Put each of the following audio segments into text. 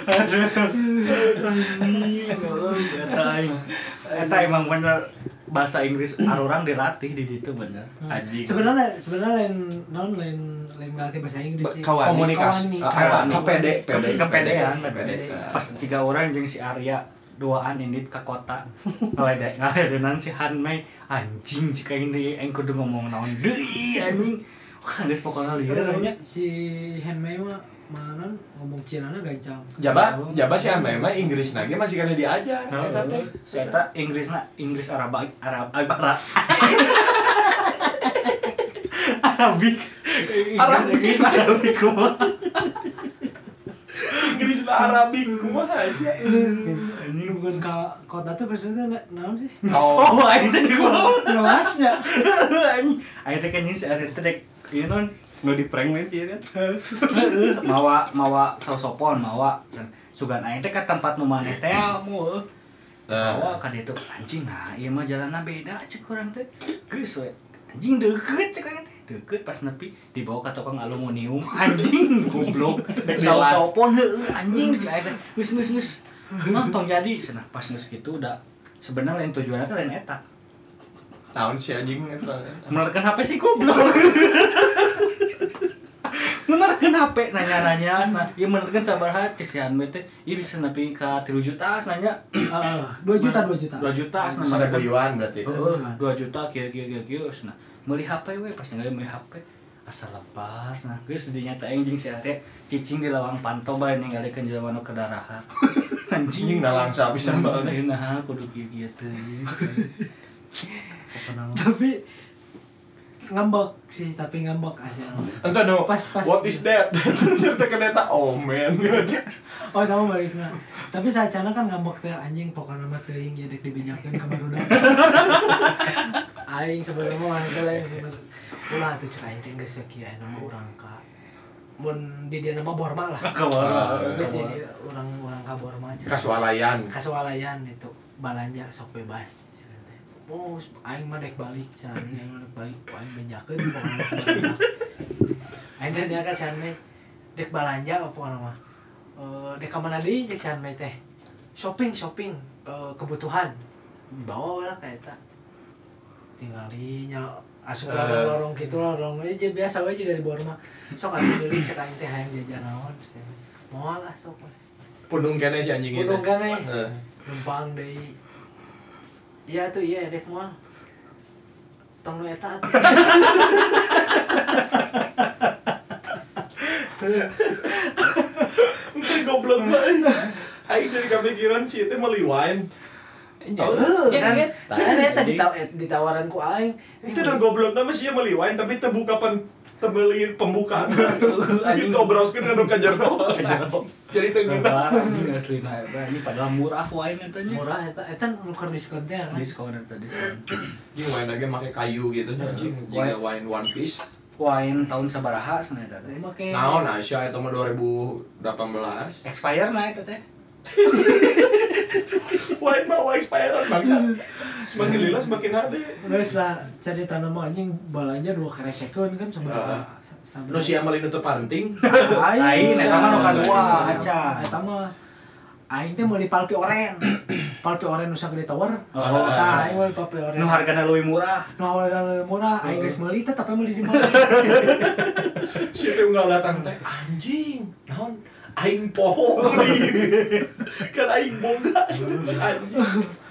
Eta emang bener bahasa Inggris arurang dilatih di ditu bener. Anjing. Sebenarnya lain ngelatih bahasa Inggris sih. Komunikasi. Kepedean. Pas 3 orang jeung si Arya duaan indit ke kota. Ngaledenan si Hanmei anjing cika ini aing kudu ngomong naon deui anjing. Wah, geus pokona lieur nya. Si Hanmei mah mana ngomong Cina na gancang. Jaba si Hanmei mah Inggrisna ge masih kana diajar eta teh. Eta Inggrisna Inggris Arabik. Inggris Arabik kumaha sih? Ini bukan kota tuh maksudnya naon sih? Oh, aing teh kumaha? Luasnya. Aing teh kan ini si Arya teh dek ieu non nu di prank we kieu kan. mawa sausopon mawa sugan aing teh ka tempat nu maneh teh moal. Mawa ka ditu anjing nah ieu mah jalanna beda ceuk urang teh. Geus we anjing deukeut ceuk aing teh. Deukeut pas nepi dibawa ka tukang aluminium anjing goblok. Sausopon heueuh anjing ceuk aing teh. Geus. Nonton jadi cenah pas geus kitu udah sebenarnya lain tujuanna teh lain eta. Naon si anjing eta? Menerken HP sih goblok. Menerken HP nanya-nanya, ieu menerken sabaraha cek si Hanmei teh, ieu bisa nepi ka 3 juta nanya. 2 juta. 2 juta Sada beliuan berarti. Heeh, 2 juta kieu cenah. Meuli HP we pas ngalih meuli HP. Asal lebar nah geus dinya teh anjing si Arya cicing di lawang panto bae ninggalikeun jelema nu kedarahan. Anjing nalangsa pisan bae. Nah kudu kieu teh. Tapi ngambek sih, aja. Entah no. Pas. What is that? Ternyata kedeta oh man. Oh, tahu baliknya. Tapi saacana kan ngambek teh anjing pokona mah teuing ya dek dibinyakeun ka barudak. Aing sebelum mah teh lain. Ulah teh cek aing teh geus kieu nama urang ka. Mun di dieu nama Borma lah. Geus jadi urang ka Borma. Kasualayan itu balanja sok bebas. Oh, aing mah dek balik, aing benjakeun pokona. Aing teh dia kan Hanmei dek balanja pokona mah. Dek ka mana deui cek Hanmei teh. Shopping kebutuhan. Bawa lah ka eta. Tingali nya asup lorong kitu lorong aja biasa we juga di Borma. Sok atuh deui cek aing teh hayang jajan naon. Moal lah sok. Pundung kene si anjing itu. Pundung kene. Numpang deui. Iya tuh iya dek moal. Tong nu eta. Entah goblok banget. Aing dari kepikiran si itu meliwain. Eta ditawaran ku aing. Itu udah goblok nama sih meliwain tapi terbuka tebeli pembukaan. Ini ngobroskeun anu ka jero. Jadi teu ngeunah. Anjing aslina eta ini padahal murah wae eta nya. Murah eta nuker diskon teh kan. Diskon eta diskon. Anjing wain lagi make kayu gitu anjing. Jika wain One Piece. Wain tahun sabaraha cenah eta teh. Naon Asia eta mah 2018. Expire na eta teh. Wain mah expirean bangsa. Semakin lila semakin ade. Geus lah cerita nama anjing balanja 2 kresekeun kan sabaraha. Nu sia meuli nu teu panting. Aing eta mah nu kadua aca. Eta mah aing teh meuli palpi oren. Palpi oren nu sagede tower. Tah aing meuli palpi oren. Nu hargana leuwih murah. Aing geus meuli teh tapi meuli di mana. Si teh ngalatang teh anjing. Naon? Aing poho. Kan aing boga anjing.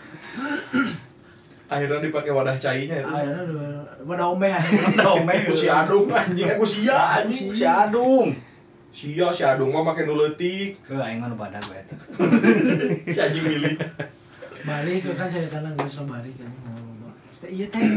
Akhirnya dipakai wadah cainya itu. Akhirnya wadah omeh. Si Adung anjing, aku sia anjing. Si Adung. Si Adung mah make nu leutik. Ke aing mah nu badag we eta. Si anjing milih. Balik kan saya tanang geus balik kan. Ieu teh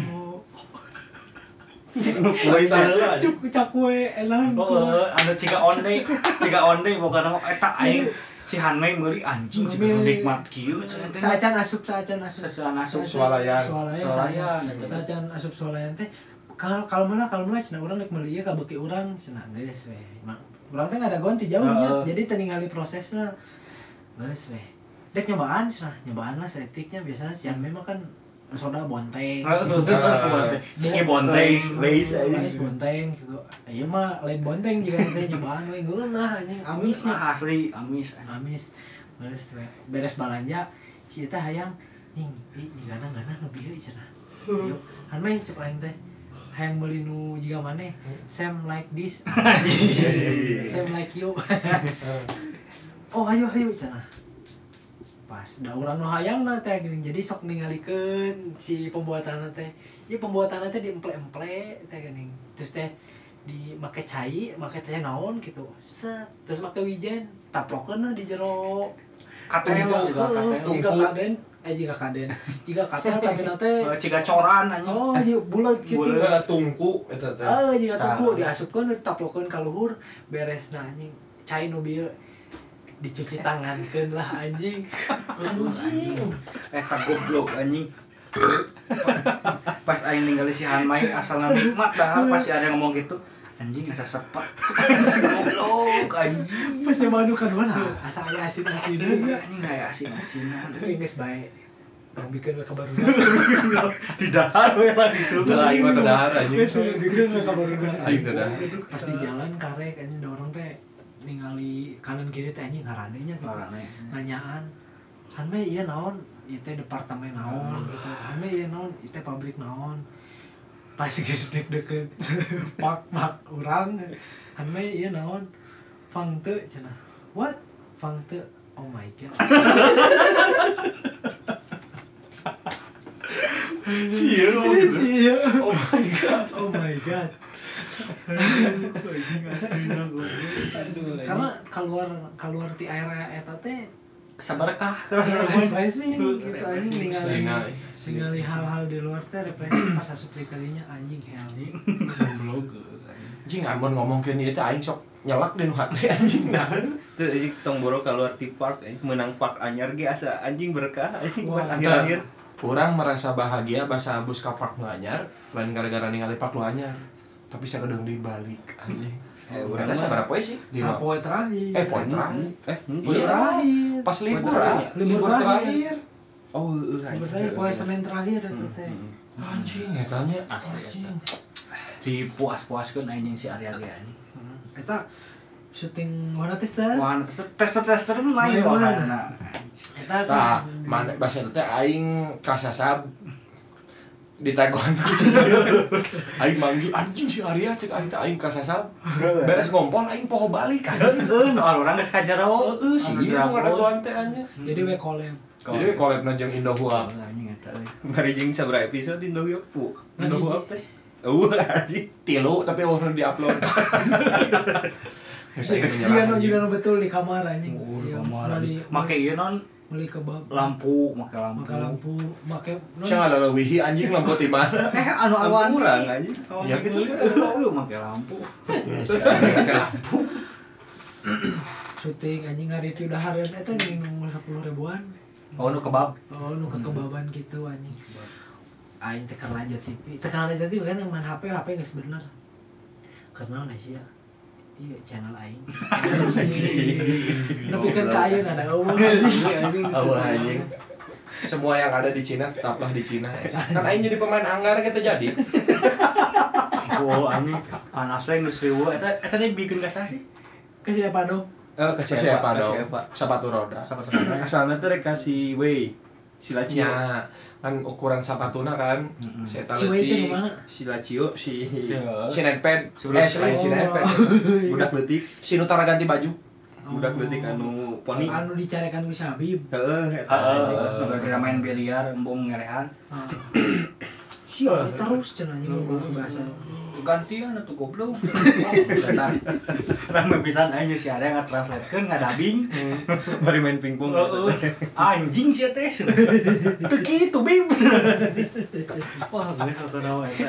Poin teh cakwe elang. Anu ciga onde bukan eta aing si Hanmei meuli anjing cik nikmat kieu cenah teh. Saacan asup swalayan. Saacan asup swalayan teh. Kalau mana cenah urang rek meuli ieu ka beuki urang cenah geus we. Urang teh ngada gonti jauhnya. Jadi teu ningali prosesna. Geus we. Dek nyobaan cenah, nyobaan lah setiknya biasanya si Hanmei mah kan soda bonteng. Ciki bonteng, Leis bonteng gitu. Ieu mah lain bonteng juga teh nyobaan we geunah anjing amisnya. Asli amis. Geus beres balanja si eta hayang ning jigana ngana nu bieu cenah. Yuk, han mah cep aing teh. Hayang meuli nu jiga maneh. Same like this. Same like you. Oh ayo cenah. Pas da urang nu hayangna teh geuning jadi sok ningalikeun si pembuatanna teh. Ieu pembuatanna teh diemple-emple teh geuning. Terus teh di make cai, make teh naon gitu. Set, terus make wijen, taplokeun di jero Katel jika kaden. Jika katel tapi nate jika coran anjing. Oh, ieu bulat kitu. Bulat tungku eta teh. Jika tungku diasupkeun ditaplokeun ka luhur beresna anjing. Cai nu bieu dicuci tangankeun lah anjing. Anjing. Eta goblok anjing. Pas aing ningali si Hanmai asalna nikmat dah pas ada yang ngomong gitu. Anjing asa sepat. Goblok anjing. Pas manu kan mana? Asa aya asin-asin. Anjing aya asin-asinan. Tapi geus bae. Bikin we kabar Tidak we langsung. Aing mah tadahar anjing. Bikin we kabar Aing tadahar. Pas di jalan karek anjing dorong teh ningali kanan kiri teh anjing ngaranenya gitu. Nanyaan. Han mah ieu naon? Ieu teh departemen naon gitu. Han mah ieu naon? Ieu teh pabrik naon? Pas geus deg-degeun pak urang. Han mah ieu naon? Fang teu cenah. What? Fang teu. Oh my god. Sia. Oh my god. Karena keluar ti area eta teh sabarkah refreshing gitu anjing ningali hal-hal di luar teh refreshing pas asup di kalinya anjing goblok anjing amun ngomongkeun ieu teh aing sok nyelak di nu hate anjing naon teu anjing tong boro keluar ti park menang park anyar ge asa anjing berkah anjing buat akhir-akhir urang merasa bahagia basa bus ka park nu anyar lain gara-gara ningali park nu anyar tapi sakedeung dibalik anjing urang ada sabaraha poe sih? poe terakhir. Poe terakhir. Poe terakhir. Pas libur terakhir. Oh, libur terakhir poe Senin terakhir eta teh. Anjing eta nya asli. Dipuas-puaskeun anjing si Arya ge anjing. Eta syuting warna tester. Wah, tester main warna. Eta mana basa teh aing kasasab di taekwondo aing manggil anjing si Arya cek aing teh aing kasasab beres ngompol aing poho balik anjing urang geus kajero si ieu ngaragoan teh anjing jadi we collab jeung Indohua anjing eta euy bari jeung sabaraha episode Indohua pu Indohua teh anjing 3 tapi urang di-upload jika betul di kamar anjing make ieu non beli kebab lampu make sia ngaleuwih anjing lampu ti mana anu awan urang anjing ya gitu make lampu make lampu syuting anjing nge-review dahareun eta nih nomor 10 ribuan nu kebab nu kekebaban gitu anjing aing teh keur lanjut TV kan yang main HP geus bener karena sia iya channel aing tapi kan ka ayeuna ada eueuh anjing semua yang ada di Cina tetaplah di Cina kan aing jadi pemain anggar kita jadi anjing panas we geus riweuh eta teh bikin ka saha sih ke siapa dong ke siapa dong sepatu roda asalna teh rek kasih we Silacio kan ukuran sepatuna kan saya si we itu mana Silacio si Netpad si Netpad budak leutik si nu tara ganti baju budak leutik anu poni anu dicarekan ku si Habib heeh eta gara main biliar embung ngerehan si terus cenah ngomong bahasa gantian atuh goblok rame pisan aja si ada yang nge-translatekeun ngadabing bari main pingpong anjing sia teh teu kitu bim wah geus saudara eta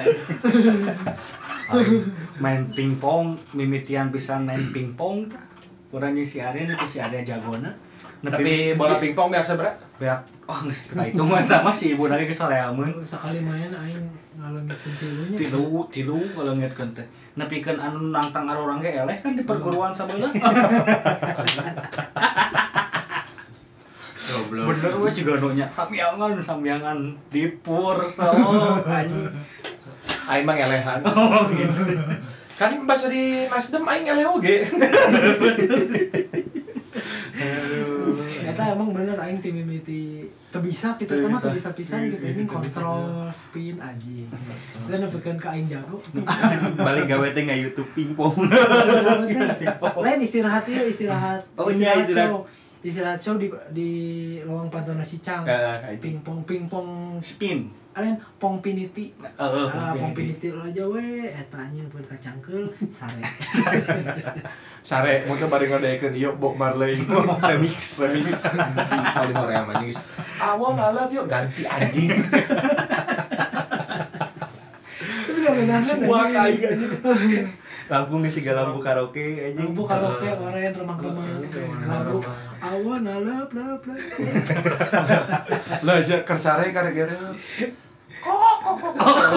main pingpong mimitian pisan main pingpong tah urang si Arya itu si Arya jagona tapi bola pingpong biasa berat beak oh geus itu mah tah masih ibu lagi ke soreameun sekali main aing ngalengitkeun tilunya tilu ngalengitkeun teh nepikeun anu nantang arurang ge eleh kan di perguruan sabeula goblok bener we juga nya sambiangan dipur so anjing. Aing mah ngelehan. Gitu. Kan bahasa di Nasdem aing ngeleh oge. Eta emang bener aing tim mimiti teu bisa kita mah teu bisa pisan gitu anjing kontrol spin anjing. Dan nepikeun ka aing jago. Balik gawe teh nggak YouTube pingpong. Lain istirahat ieu istirahat. Oh iya Istirahat show di Lawang Pantona Sicang. Pingpong spin. Alen pongpiniti. Pongpiniti lo aja we eta anjing pun kacangkeul sare. Sare mun teu bari ngadekeun ieu Bob Marley remix. Kalau di Korea mah anjing. Awal ngalap yuk ganti anjing. Tapi gak semua kayak anjing. Lampu ngisi lampu karaoke anjing. Lampu karaoke oren remang-remang. Lagu awan alap lap lap. Lah sia keur sare gara-gara kok.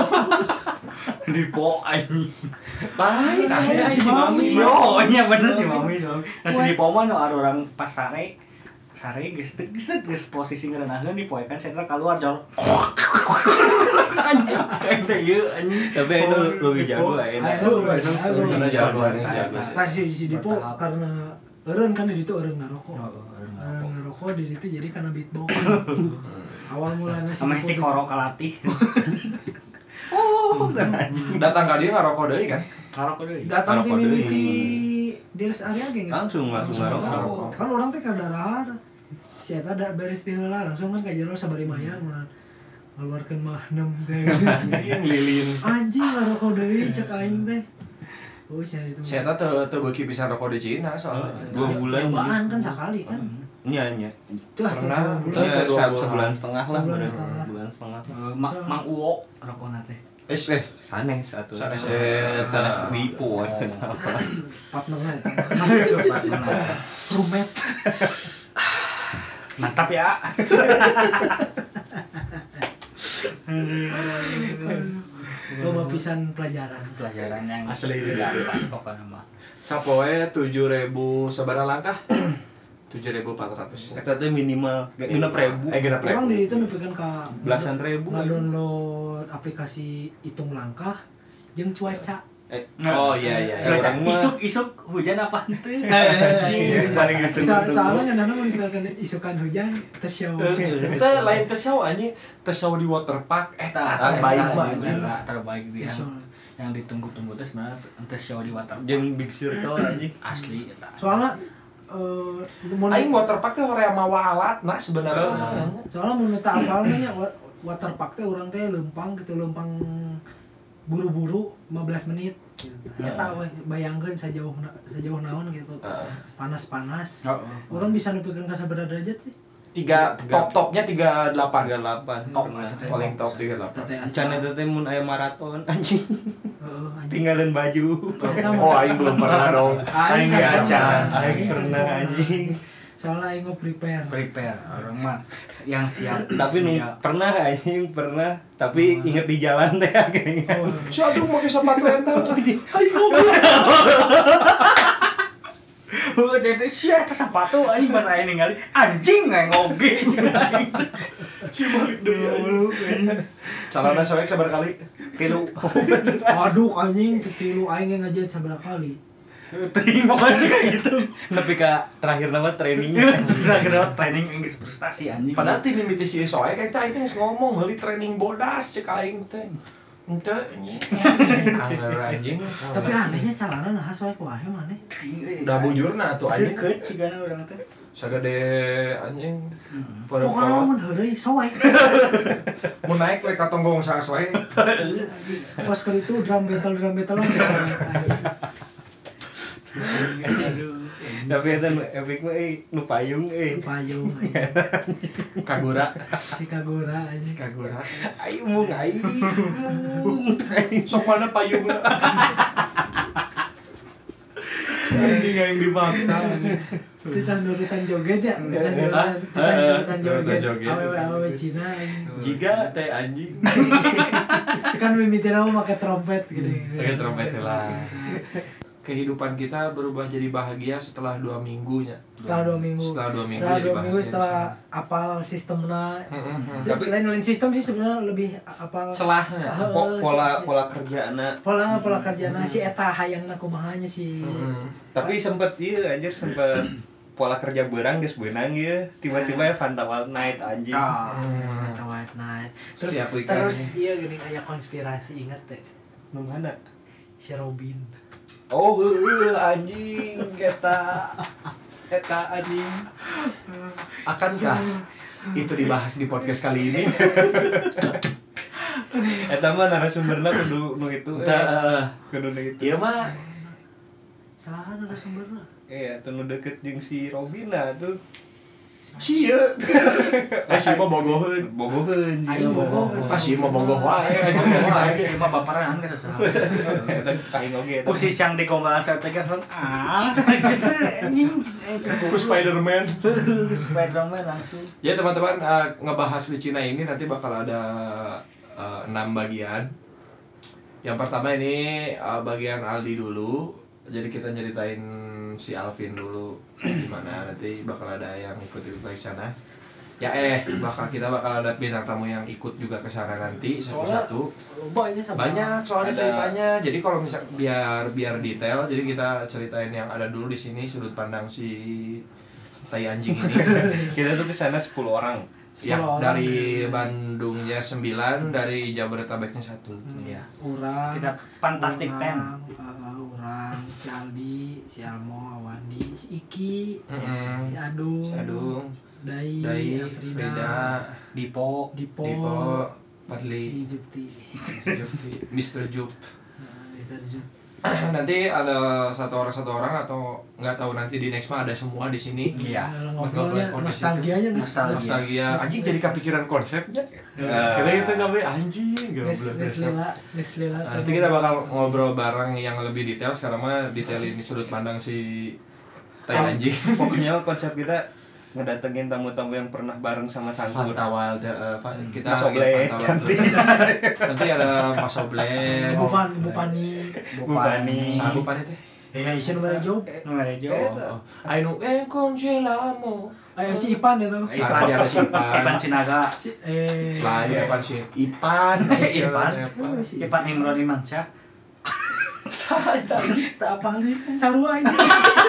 Dipo anjing. Lain Si Mami. Oh, iya bener si Mami. Nah, si Dipo mah ada orang pas sare geus posisi ngeureunahkeun dipoekan sentra keluar jor. Anjing, kayak ieu anjing. Tapi itu lebih jago enak. Karena jago. Kasih si Dipo karena eureun kan di ditu eureun ngarokok. Ngarokok di ditu jadi karena beatbox. Awal mulanya si Ameh ti koro kalatih. Datang ka dieu ngarokok deui kan? Ngarokok deui. Datang ti mimiti di rest area ge langsung ngarokok. Kan orang teh kadarahan. Si eta da beres ti heula langsung kan ka jero sabari mayar mun ngeluarkeun mah 6 teh. Lilin. Anjing ngarokok deui cek aing teh. Oh, sia itu. Si eta teu beuki pisan rokok di Cina soalnya. 2 bulan. Nyobaan kan sekali kan. Nya. Pernah. Sebulan setengah lah. Sebulan setengah. Mang Uwo rokona teh. Sanes atuh. Sanes Dipo. Partnernya eta. Rumet. Mantap ya. Loba pisan pelajaran yang asli gampang pokoknya mah. Sapoe 7.000 sabaraha langkah? 7.400. Eta teh minimal genep ribu. Genep ribu. Orang di itu nepikeun ka belasan ribu. Download aplikasi hitung langkah jeung cuaca. Oh iya. Isuk hujan apa teh? Paling gitu. Soalnya nganana misalkan isukan hujan teu show. Kita lain teu show anjing, teu show di waterpark terbaik mah anjing. Terbaik dia. Yang ditunggu-tunggu teh sebenarnya teu show di waterpark. Jeung Big Circle anjing. Asli eta. Soalnya aing waterpark teh hoream mawa alatna sebenarnya. Soalnya mun teu apal nya waterpark teh urang teh leumpang gitu, leumpang buru-buru 15 menit. Eta we bayangkeun sajauh naon gitu. Panas-panas. Urang bisa nepikeun ka sabaraha derajat sih? Top-topnya 38. Top paling top 38. Can eta teh mun aya maraton anjing. Tinggalin baju. Oh aing belum pernah dong. Aing pernah anjing. Soalnya aing mau prepare orang mah yang siap. Tapi pernah tapi inget di jalan teh akhirnya. Si aduh make sepatu eta cai. Oh jadi sia sepatu aing pas aing ningali anjing ngoge cing aing. Si balik deui. Calana soek sabar kali? 3. Waduh anjing ketilu aing ngajieun sabaraha kali. Ting pokoknya kayak gitu. Nepi ka terakhir nama training. Terakhir training geus frustasi anjing. Padahal ti mimiti si soek eta aing geus ngomong meuli training bodas cek aing teh. Henteu anjing. Anggar anjing. Tapi anehnya calana nah soek wae maneh. Udah bujurna atuh anjing. Seukeut cigana urang teh. Sagede anjing. Pokoknya mun heureuy soek. Mun naik we ka tonggong saas wae. Pas kali itu drum battle Tapi eta epic mah nu payung payung Kagura. si Kagura anjing. Aing mung aing. Sok mana payungna. Anjing yang dipaksa. Nurutan joget ya. Nurutan joget. Awewe Cina anjing. Jika teh anjing. Kan mimiti nama pakai trompet gitu. Pakai trompet lah. kehidupan kita berubah jadi bahagia setelah 2 minggunya. Setelah 2 minggu. Setelah 2 minggu Setelah jadi 2 bahagia. minggu setelah apal sistemnya. Tapi Lain sistem sih sebenarnya lebih apal celahnya Pola kerjana. Pola kerjana si eta hayangna kumahanya sih. Tapi sempet pola kerja berang geus beunang ieu, tiba-tiba Fanta Wild Night anjing. Fanta Wild Night. Terus iya geuning aya konspirasi inget teh. Nu mana? Si Robin. Oh, anjing eta anjing. Akankah itu dibahas di podcast kali ini? Eta mah narasumberna kudu nu itu. Kudu nu itu. Ieu mah saha narasumberna? Iya, tuh nu deket jeung si Robina tuh. Sia. Si mah bogoheun. Aing bogoh. Si mah bogoh wae. Si mah baperan ka saha. Aing oge. Ku si Cang digombalan saya teh kan Ku Spider-Man. Spider-Man langsung. Ya teman-teman, ngebahas di Cina ini nanti bakal ada 6 bagian. Yang pertama ini bagian Aldi dulu. Jadi kita nyeritain si Alvin dulu gimana, nanti bakal ada yang ikut ke sana. Ya kita bakal ada bintang tamu yang ikut juga ke sana nanti satu-satu. Banyak soalnya ceritanya. Jadi kalau misal biar detail, jadi kita ceritain yang ada dulu di sini sudut pandang si tai anjing ini. Kita tuh ke sana 10 orang. Ya, dari Bandungnya 9, dari Jabodetabeknya 1. Iya. Urang. Kita Fantastic Ten. Urang, si Aldi, si Almo, Awandi, si Iki, Si si Adung, Dai, Frida, Dipo, Fadli, si Jupti, Mr. Jup. Mr. Jup. Nanti ada satu orang atau nggak tahu, nanti di next mah ada semua di sini. Iya. Ngobrolnya nostalgianya Nostalgia. Anjing jadi kepikiran konsepnya. Kita itu nggak boleh anjing. Neslila. Nanti kita bakal ngobrol bareng yang lebih detail. Sekarang mah detail ini sudut pandang si tai anjing. Pokoknya konsep kita ngedatengin tamu-tamu yang pernah bareng sama Sangkur. Fanta Wild, kita Mas Oblek, nanti ada Mas Oblek, Bupani. Saha Bupani teh? Isin Merejo. Ainu congelamo. Ayo si Ipan itu. Tadi ada si Ipan Sinaga. Lain Ipan si Ipan Imron Imansyah. Tak apa nih, sarua ini.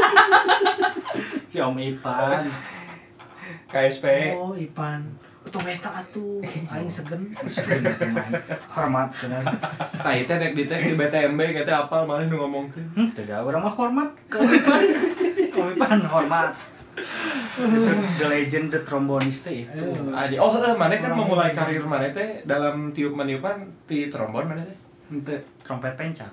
Si Om Ipan. KSP. Oh, Ipan. Tometa atuh, aing segen. Hormat bener. Tah teh dek di BTMB kita apal malah nu ngomongkeun. Tidak, orang mah hormat ke Ipan. Ipan hormat. Itu the legend, the trombonist teh itu. Mana kan memulai karir mana teh dalam tiup-meniupan ti trombon mana teh? Henteu trompet pencak.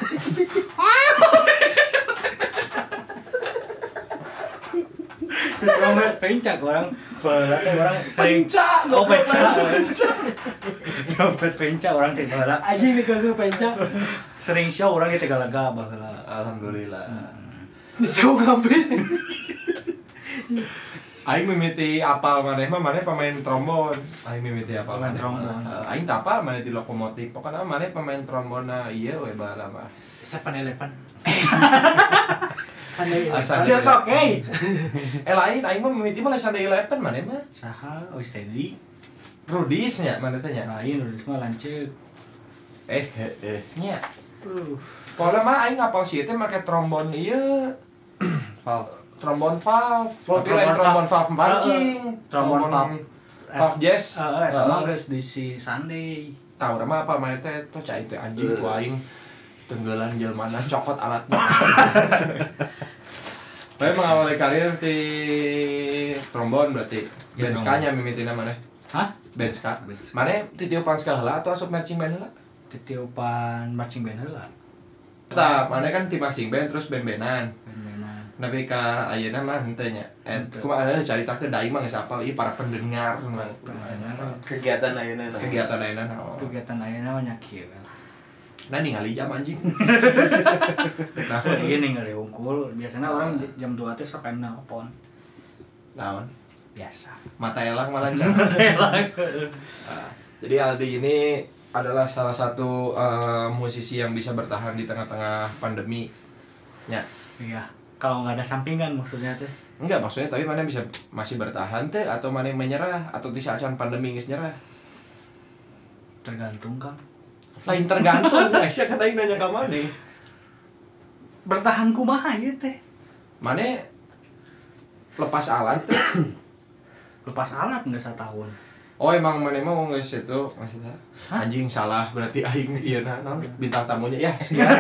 Trompet pencak orang sering pencak. Trompet pencak orang teh baheula. Anjing nih kagak pencak. Sering show orang teh galaga baheula. Alhamdulillah. Jauh ngambil. Aing mimiti apal maneh pemain trombon. Aing mimiti apal maneh trombon. Aing teu apal maneh di lokomotif. Pokona maneh pemain trombonna ieu we baheula mah. 7-Eleven. Siap oke. Lain aing mah mimiti mah 7-Eleven maneh mah. Saha? Oh, steady. Rudis nya maneh teh nya. Lain Rudis mah lanceuk. Nya. Pokona mah aing ngapal si teh make trombon ieu. Trombon valve, tapi lain trombon valve pancing, trombon valve jazz. Eta mah geus di si Sunday. Tah urang mah apa mah teh teh cai teh anjing ku aing tenggelan jelmana cokot alatna. Bae mengawali karir di trombon berarti. Benska-nya mimitina maneh. Hah? Benska. Maneh titiupan ska heula atau asup marching band heula? Titiupan marching band heula. Tah, maneh kan ti marching band terus band-bandan. Tapi ka ayeuna mah henteu nya. Kumaha caritakeun da aing mah geus apal ieu para pendengar mah. Kegiatan ayeuna naon? Kegiatan ayeuna naon? Kegiatan ayeuna mah nya kieu. Nah ningali jam anjing. Nah, ieu ningali hungkul. Biasana orang jam 2 teh sok aya nelpon. Naon? Biasa. Mata elang malah can. Jadi Aldi ini adalah salah satu musisi yang bisa bertahan di tengah-tengah pandemi. Ya. Iya. Kalau nggak ada sampingan maksudnya teh. Enggak, maksudnya tapi mana bisa masih bertahan teh atau mana menyerah atau di saat pandemi geus nyerah? Tergantung Kang. Lain tergantung, Aisyah kan aing nanya ka mana? Bertahan kumaha ieu teh? Mana lepas alat teh? Lepas alat nggak setahun. Oh emang mana mau geus itu maksudnya? Anjing salah berarti aing ieu naon bintang tamunya ya.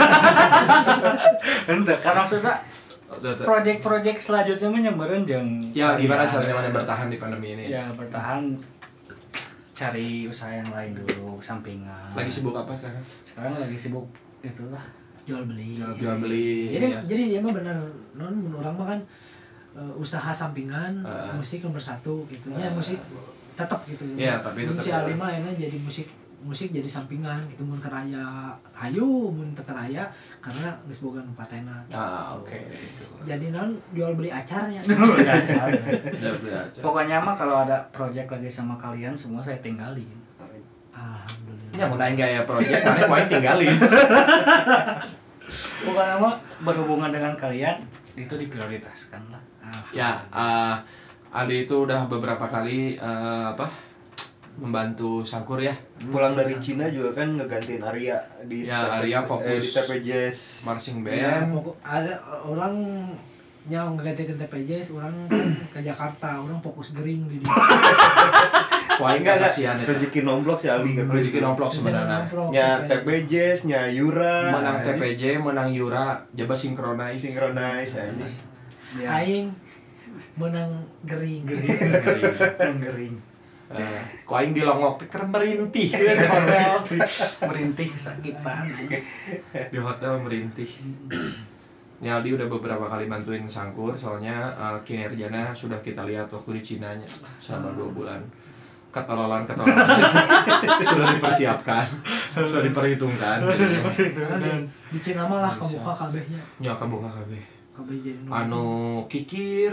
Ente karena maksudnya project-project selanjutnya mah nyameureun jeung ya gimana caranya mana bertahan di pandemi ini? Ya bertahan cari usaha yang lain dulu sampingan. Lagi sibuk apa sekarang? Sekarang lagi sibuk itulah jual beli. Jual beli. Jadi sih emang bener non orang mah kan usaha sampingan musik nomor 1 gitu. Ya musik tetap gitu. Iya, tapi tetap. Si Ali mah jadi musik jadi sampingan gitu mun karaya hayu mun teu karaya karena geus boga nu patena. Oke. Jadi non jual beli acarnya. Jual beli acar. Pokoknya mah kalau ada project lagi sama kalian semua saya tinggalin. Alhamdulillah. Ya mun aing gaya project mana mau tinggalin. Pokoknya mah berhubungan dengan kalian itu diprioritaskan lah. Ya, Ali itu udah beberapa kali membantu Sangkur ya. Pulang dari Cina juga kan ngegantiin Arya di Arya fokus di TP Jazz marching band. Ya, ada orang yang ngegantiin TPJS, orang ke Jakarta, orang fokus gering di dia. Wah, enggak saksian itu. Rezeki nomplok si Ali kan. Rezeki nomplok sebenarnya. Nya TP Jazz, nya Yura. Menang TPJ, menang Yura, jaba synchronize anjing. Aing menang gering. Gering. Ku aing dilongok keur merintih di hotel. Merintih kesakitan. Di hotel merintih. Ya Aldi udah beberapa kali bantuin Sangkur soalnya kinerjanya sudah kita lihat waktu di Cinanya selama 2 bulan. Ketololan sudah dipersiapkan, sudah diperhitungkan. Di Cina mah lah kebuka kabehnya. Ya kebuka kabeh. Jadi anu kikir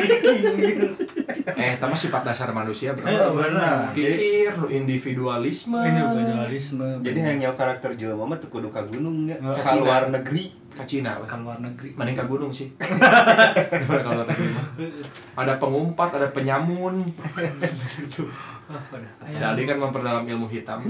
tapi sifat dasar manusia benar kikir individualisme jadi hanya karakter jelema mah teu kudu ka gunung nya ka luar negeri ka Cina ka luar negeri mending ka gunung sih ka luar negeri mah ada pengumpat ada penyamun jadi kan memperdalam ilmu hitam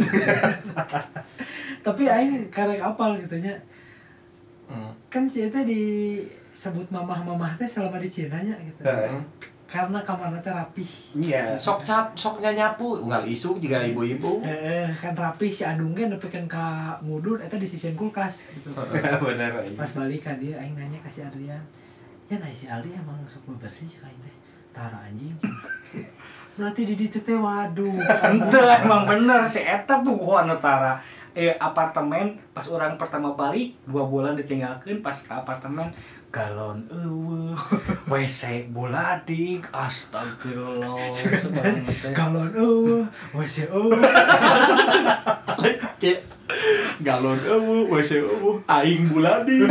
tapi aing karek apal gitu nya kan si eta disebut mamah-mamah teh selama di Cina nya gitu. Karena kamarna teh rapih. Iya. Soknya nyapu unggal isu juga ibu-ibu. Kan rapih si Adung ge nepikeun ka ngudun eta disisieun kulkas gitu. Bener. Pas balik ka dia aing nanya ka si Adrian. Ya nah si Aldi emang sok bebersih sih kain teh. Tara anjing. Berarti di ditu teh waduh. Henteu emang bener si eta puguh anu tara. Apartemen pas orang pertama balik 2 bulan ditinggalkan pas ke apartemen galon WC buladik astagfirullah galon WC galon WC aing buladik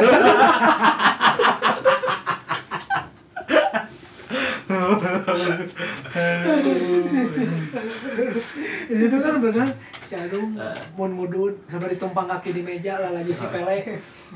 itu kan benar si Adung mun ngudud sampai ditumpang kaki di meja lah lagi si Pele.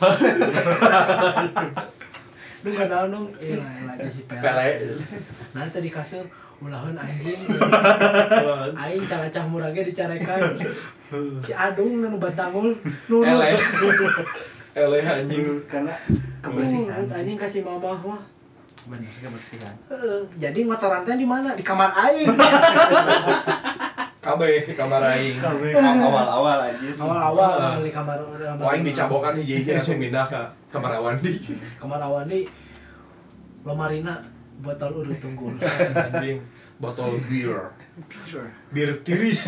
Dung kadang dong lagi si Pele. Nah tadi kasih ulahan anjing. Aing calacah murage dicarekan. Si Adung nu batangul nurut. Ele anjing karena kebersihan. Anjing kasih mamah mah. Bener kebersihan. Jadi ngotoran teh di mana? Di kamar aing. Kabeh di kamar aing. Awal-awal aja. Awal-awal di kamar. Aing dicabokan hiji langsung pindah ke kamar Awandi. Kamar Awandi lomarina botol urut tunggul. Anjing, botol bir tiris.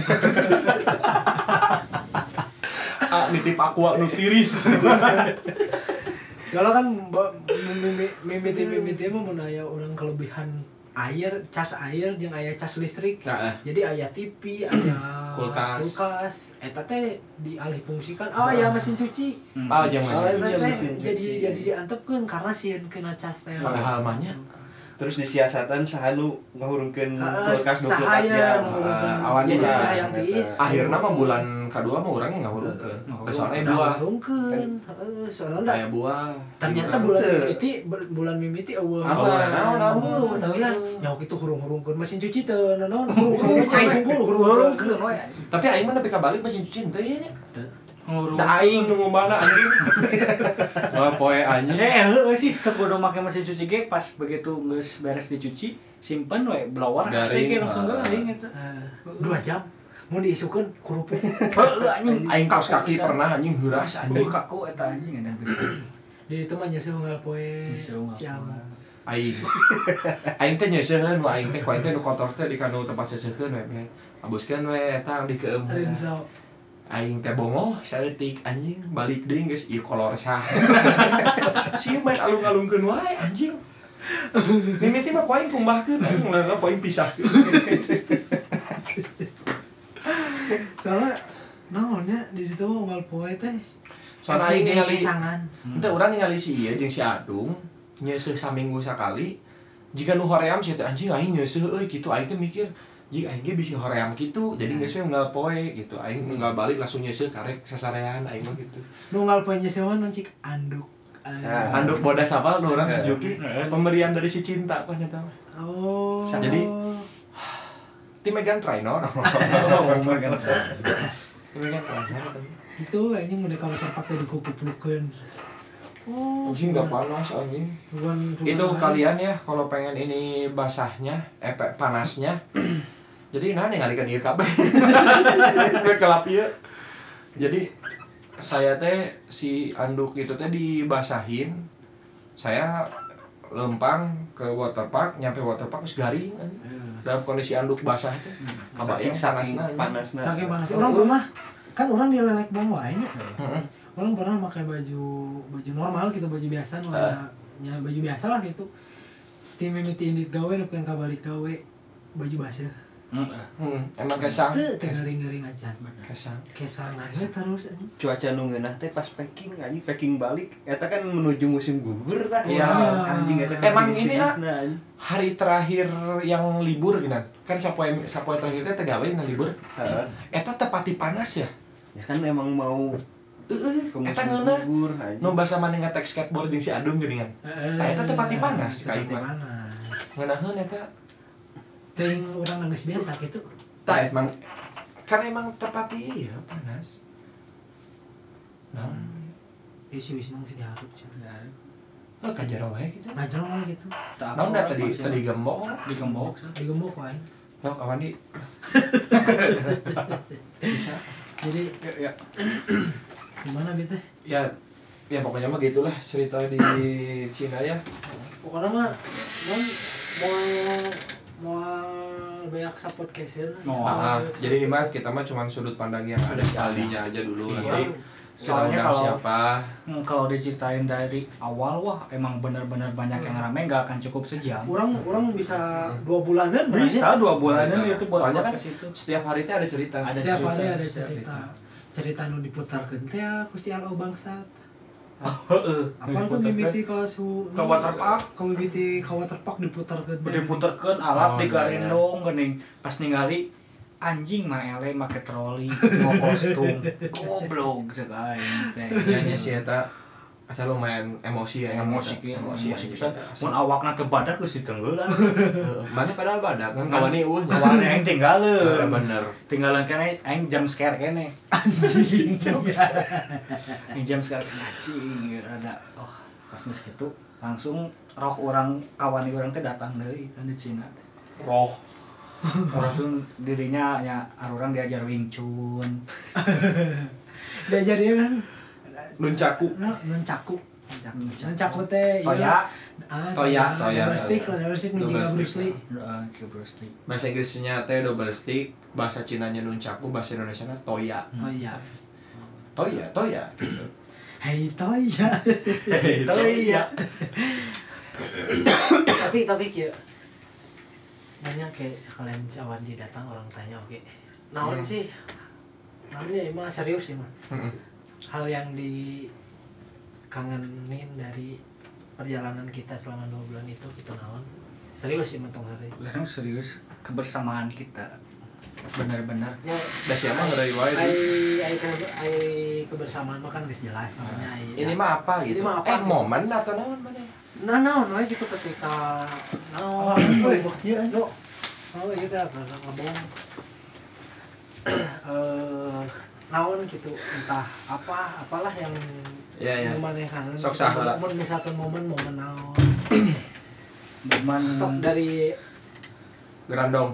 Nitip aqua nu tiris. Kalau kan mimiti mah mun aya urang kelebihan air, cas air jeung aya cas listrik. Jadi aya TV, aya kulkas. Eta teh dialih fungsikan. Ya mesin cuci. Jeung mesin cuci. Jadi diantepkeun karena sieun kena cas teh. Padahal mah nya terus disiasatan sahanu ngahurungkeun kulkas 24 jam. Awan jadi bulan. yang diis Akhirna mah bulan kedua mah urangnya ngahurungkeun. Soalnya dua. ngahurungkeun soalnya Aya buah. ternyata bulan mimiti eueuh Apa? tahu kan nyawa kitu hurung-hurungkeun mesin cuci teu naon hurung cai unggul hurung-hurungkeun we Tapi aing mah nepi ka balik mesin cuci teu nya. ngurung Da aing nu ngomana anjing. Wah poe anjing. heueuh sih teu kudu make mesin cuci ge pas begitu geus beres dicuci simpen we blower Garing. ge langsung garing eta 2 jam mun diisukeun kerupuk heueuh anjing Aing kaos kaki pernah anjing heuras anjing. kaku eta anjing edan pisan di itu mah nyeuseum nggal poe Nyeuseum siapa Aing teh nyeuseun nu aing teh ku aing teh nu kotor teh di kanu tempat seuseun we. Abuskeun we eta di keum. Rinso Aing teh bongo saeutik anjing balik deui geus ieu kolor sah. Sieu main alung-alungkeun wae anjing. Mimiti mah ku aing kumbahkeun anjing lalu ku aing pisahkeun. soalnya naonnya di ditu mah nggal poe teh Soalnya aing ningali sangan henteu urang ningali si ieu jeung si Adung nyeuseuh saminggu sakali. Jika nu hoream si teh anjing aing nyeuseuh euy kitu aing teh mikir jika aing ge bisi hoream kitu jadi geus we unggal poe gitu. Aing unggal balik langsung nyeuseuh karek sasarean aing mah gitu. nu nggal poe nyeuseum mah cik anduk Anduk bodas apal nu urang Suzuki pemberian dari si cinta apa nyata. oh Jadi Tim Megan Trainor. Megan itu anjing udah kamu pakai dikukup-kukupan oh Anjing gak panas anjing. cuman Itu kalian ya kalau pengen ini basahnya, panasnya. Jadi nah ningalikan ieu kabeh. Kelap ieu. Jadi saya teh si anduk itu teh dibasahin. Saya lempang ke waterpark, nyampe waterpark terus garing dalam kondisi anduk basah teh. Kabayang panasna. saking panas orang pernah kan orang di lelek bawah wae nya orang pernah pakai baju normal gitu baju biasa ya baju biasa lah gitu tim mimiti indit gawe nepi ka balik gawe baju basah Emang kesang. teu garing-garing acan kesangannya terus anjing Cuaca nu ngeunah teh pas packing balik eta kan menuju musim gugur tah. Iya. Anjing eta kan Emang di ini lah destinasinya, anjing. hari terakhir yang libur gini kan sapoe terakhir teh tegawe na libur. Heeh. Eta tepati panas ya. Ya kan emang mau ke musim Eta ngeunah. gugur anjing. Nu basa maneh ngetek skateboard jeung si Adung geuningan. Eta tepati panas ka ieu mah. Ngeunaheun eta teuing urang geus biasa gitu tah emang kan emang tepati ieu panas. Nah, isi-isi nang sih diharap sih kajero wae gitu. ngajar lah gitu Naon da tadi gembok. digembok wae Yo kawan di. Bisa. jadi ya gimana gitu Ya pokoknya mah gitulah cerita di Cina ya. pokoknya mah non mau banyak support caser Jadi ini mah kita mah cuma sudut pandang yang ada si Aldinya aja dulu nanti kita Soalnya undang kalau- siapa. kalau diceritain dari awal wah emang bener-bener banyak yang rame nggak akan cukup sejam orang bisa 2 bulanan bisa 2 bulanan Nah, itu buat soalnya kan ke situ setiap hari itu ada cerita. Ada setiap cerita, hari ada cerita. cerita nu diputarkeun teh ku si Alo bangsat heeh apa tuh mimiti ka su Ka waterpark. ka mimiti ka waterpark diputarkeun teh diputerkeun alat Oh, di iya, garindong geuning pas ningali anjing mah ele make troli mau kostum goblok cek aing teh Nya si eta asa lumayan emosi ya. emosi emosi pisan mun awakna teu badak geus ditenggeulan Mana padahal badak kan kawani kawan aing tinggaleuh bener. tinggalan kene aing jam scare kene anjing aing jam scare kene anjing rada pas geus kitu langsung roh orang kawan urang teh datang deui kan di Cina Roh. langsung dirinya nya arurang diajar Wing Chun diajar dia kan Nuncaku. nuncaku teh Toya Toya. double stick nu Double jiga stick. Bruce Lee ke Bruce Lee Bahasa Inggrisnya teh double stick, bahasa Cinanya nuncaku, bahasa Indonesianya toya. Toya gitu. Hey Toya Toya tapi kieu banyak kayak sekalian cawan dia datang orang tanya oke naon sih namanya emang serius sih mah hal yang dikangenin dari perjalanan kita selama 2 bulan itu gitu naon Serius sih mentong hari. Orang serius kebersamaan kita. Benar-benar. Ya, da siapa ngeureui wae. ai kebersamaan mah kan geus jelas maksudnya Ini mah apa gitu? Ini mah apa? Momen atau naon mana? Naon we gitu ketika naon Iya. oh iya kan ngomong naon gitu entah apalah yang Iya. maneh kangen. Sok saha. Mun misalkan momen naon. Momen Sok dari Gerandong.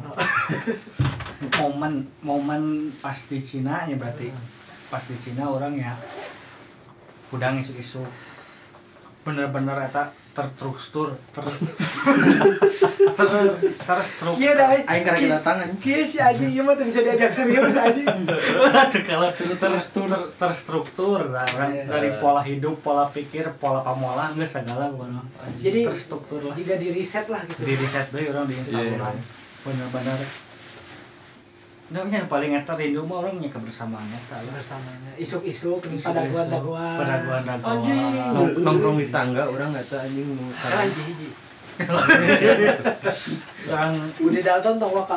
momen pas di Cina ya berarti. Pas di Cina orang ya udang isu-isu bener-bener eta terstruktur Iya dah. aing karek kedatangan Kieu si Aji ieu mah teu bisa diajak serius Aji. kalau terstruktur lah, dari pola hidup, pola pikir, pola pamola geus segala pokona. Jadi terstruktur lah. jika di reset lah gitu. Di reset deui orang di Instagram. Bener-bener. Yang paling eta rindu mah orangnya kebersamaan eta lah. Bersamanya isuk-isuk padaguan-daguan. Padaguan-daguan. Nongkrong di tangga orang eta anjing nu Hiji. Orang Budi Dalton tong loka.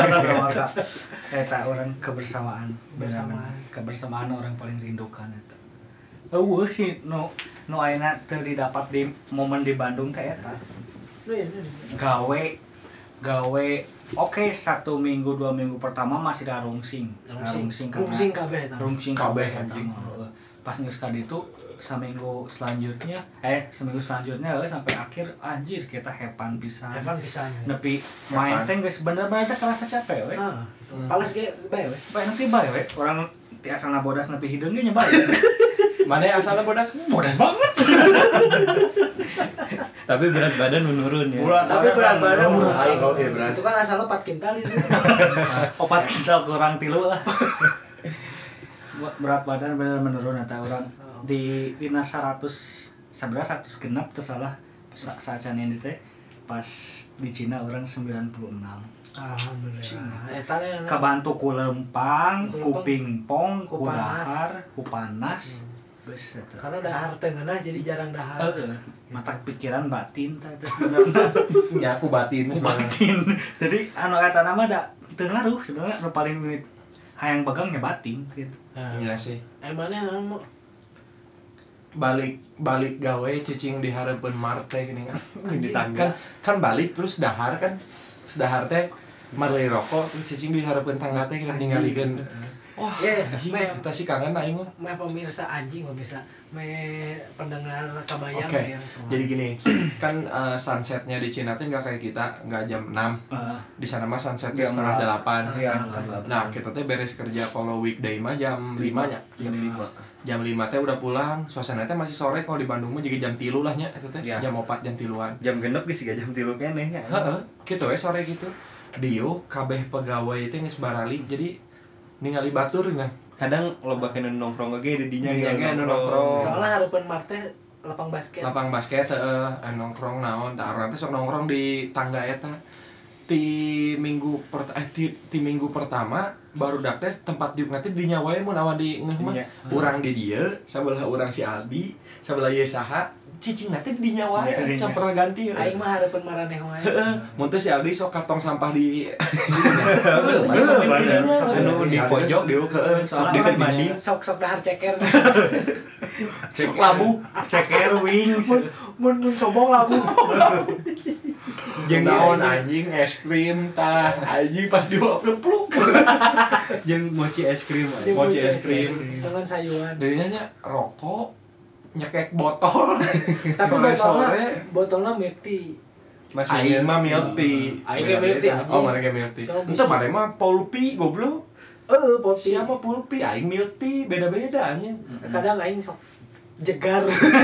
eta orang kebersamaan. Kebersamaan orang paling rindukan eta. Eueuh sih nu ayeuna teu didapat di momen di Bandung teh eta. Gawe oke 1 minggu 2 minggu pertama masih ada rungsing kabeh eta. Rungsing kabeh anjing. Pas geus ka ditu seminggu selanjutnya sampai akhir anjir kita hepan pisan. Nepi main teh geus bener-bener kerasa capek we. Pales ge bae we. Bae sih bae we. Urang ti asalna bodas nepi hideung ge nya bae. Mana asalnya bodas? Bodas banget. tapi berat badan menurun ya. Tapi berat badan Aing oke berat. Itu kan asalnya 4 kintal itu. 4 kintal kurang 3 lah. Berat badan bener menurun eta orang di dina 100 sabaraha 100 genep teu salah sacan yang teh pas di Cina orang 96. Alhamdulillah. Eta Kabantu ku lempang, ku pingpong, ku dahar, ku panas. Geus eta. karena dahar teh ngeunah jadi jarang dahar. Mata pikiran batin teh sebenarnya. Ya aku batin sebenarnya. Batin. Jadi anu eta nama da teu ngaruh sebenarnya nu paling hayang begangnya batin gitu. Iya sih. Emangnya nama Balik gawe cicing di hareupeun Marte gini kan. Di tangga. Kan balik terus dahar kan. Dahar teh marli rokok terus cicing di hareupeun tangga teh ningalikeun. Wah, kita sih kangen aing mah. meh pemirsa anjing pemirsa meh pendengar kabayang Oke. ya. Jadi gini, kan sunsetnya di Cina tuh nggak kayak kita, nggak jam 6. Di sana mah sunsetnya Jam setengah 8. Iya. Nah, kita tuh beres kerja kalau weekday mah jam 5 nya. Jam 5 teh udah pulang, suasana teh masih sore. Kalau di Bandung mah juga jam 3 lah nya, itu teh. Iya. Jam 4 jam 3-an. Jam genep geus siga jam 3 keneh nya. Heeh, gitu sore gitu. Dieu kabeh pegawai teh geus barali, jadi ningali batur nah. Kadang loba kana nongkrong ge di dinya Dinya nongkrong. Soalnya hareupeun Marte lapang basket. Lapang basket nongkrong naon tah urang teh sok nongkrong di tangga eta. Ti minggu pertama baru dak teh tempat diuk nanti dinya wae mun awan di ngeuh mah. Urang di dieu, sabelah urang si Aldi, sabelah ieu saha, cicing nanti dinya wae campur ganti. Aing mah hareupeun maraneh wae. Mun teh si Aldi sok kartong sampah di Anu di pojok diuk sok deket mandi. Sok dahar ceker. sok labu. Ceker wings. Mun sombong labu. Jeung naon anjing es krim tah anjing pas diuap-uap. Jeung mochi es krim. Mochi es krim. Dengan sayuran. Darinya nya rokok, nyekek botol. Tapi Sore-sore botolnya milk tea. aing mah milk tea. Aing ge milk tea. Oh, mana ge milk tea. Entah mana mah pulpi goblok. Pulpi. Siapa pulpi aing milk tea beda-beda anjing. Kadang aing sok jegar.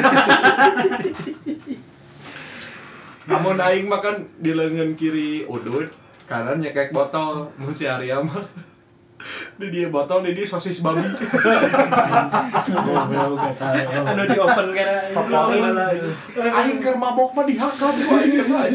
Namun aing mah kan di lengan kiri udut, kanan nyekek botol. Mun si Arya mah di dia botol di dia sosis babi. Anu di open kana. Aing keur mabok mah dihakam ku aing mah.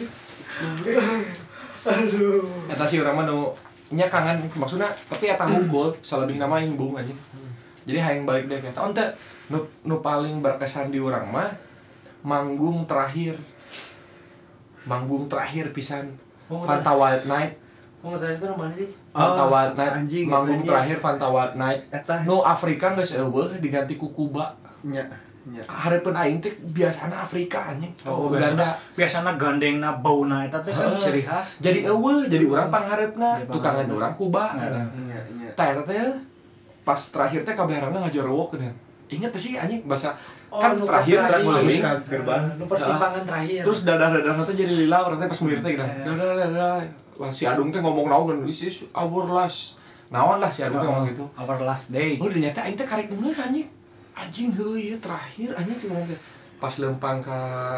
Aduh. Eta si urang mah nu nya kangen maksudna tapi eta hungkul salebihna mah aing bung anjing. Jadi hayang balik deui eta. Onte nu paling berkesan di urang mah manggung terakhir. manggung terakhir pisan Oh, Fanta Wild Night. Oh, tadi itu mana sih? Fanta Wild Night anjing, manggung anjing. terakhir Fanta Wild Night. Eta Nu Afrika geus eueuh diganti ku Kuba. nya. Hareupeun aing teh biasana Afrika anjing. Oh, Uganda. biasana gandengna bauna eta teh kan ciri khas. Jadi eueuh, jadi urang panghareupna, Jadi tukangan pangharep. urang Kuba. Nya. Tah eta teh pas terakhir teh kabeharana ngajorowok geuning. Ingat sih anjing bahasa kan nu terakhir pas terakhir tadi. nguling. Gerbang. Nu persimpangan terakhir. Terus dadah-dadah teh jadi lila urang teh pas mulih teh gitu. Dadah. Wah si Adung teh ngomong naon this is our last. Naon lah si Adung teh ngomong gitu. Our last day. Oh ternyata aing teh karek ngeuh anjing. Anjing heuh ieu terakhir anjing sih ngomong teh. Pas lempang ka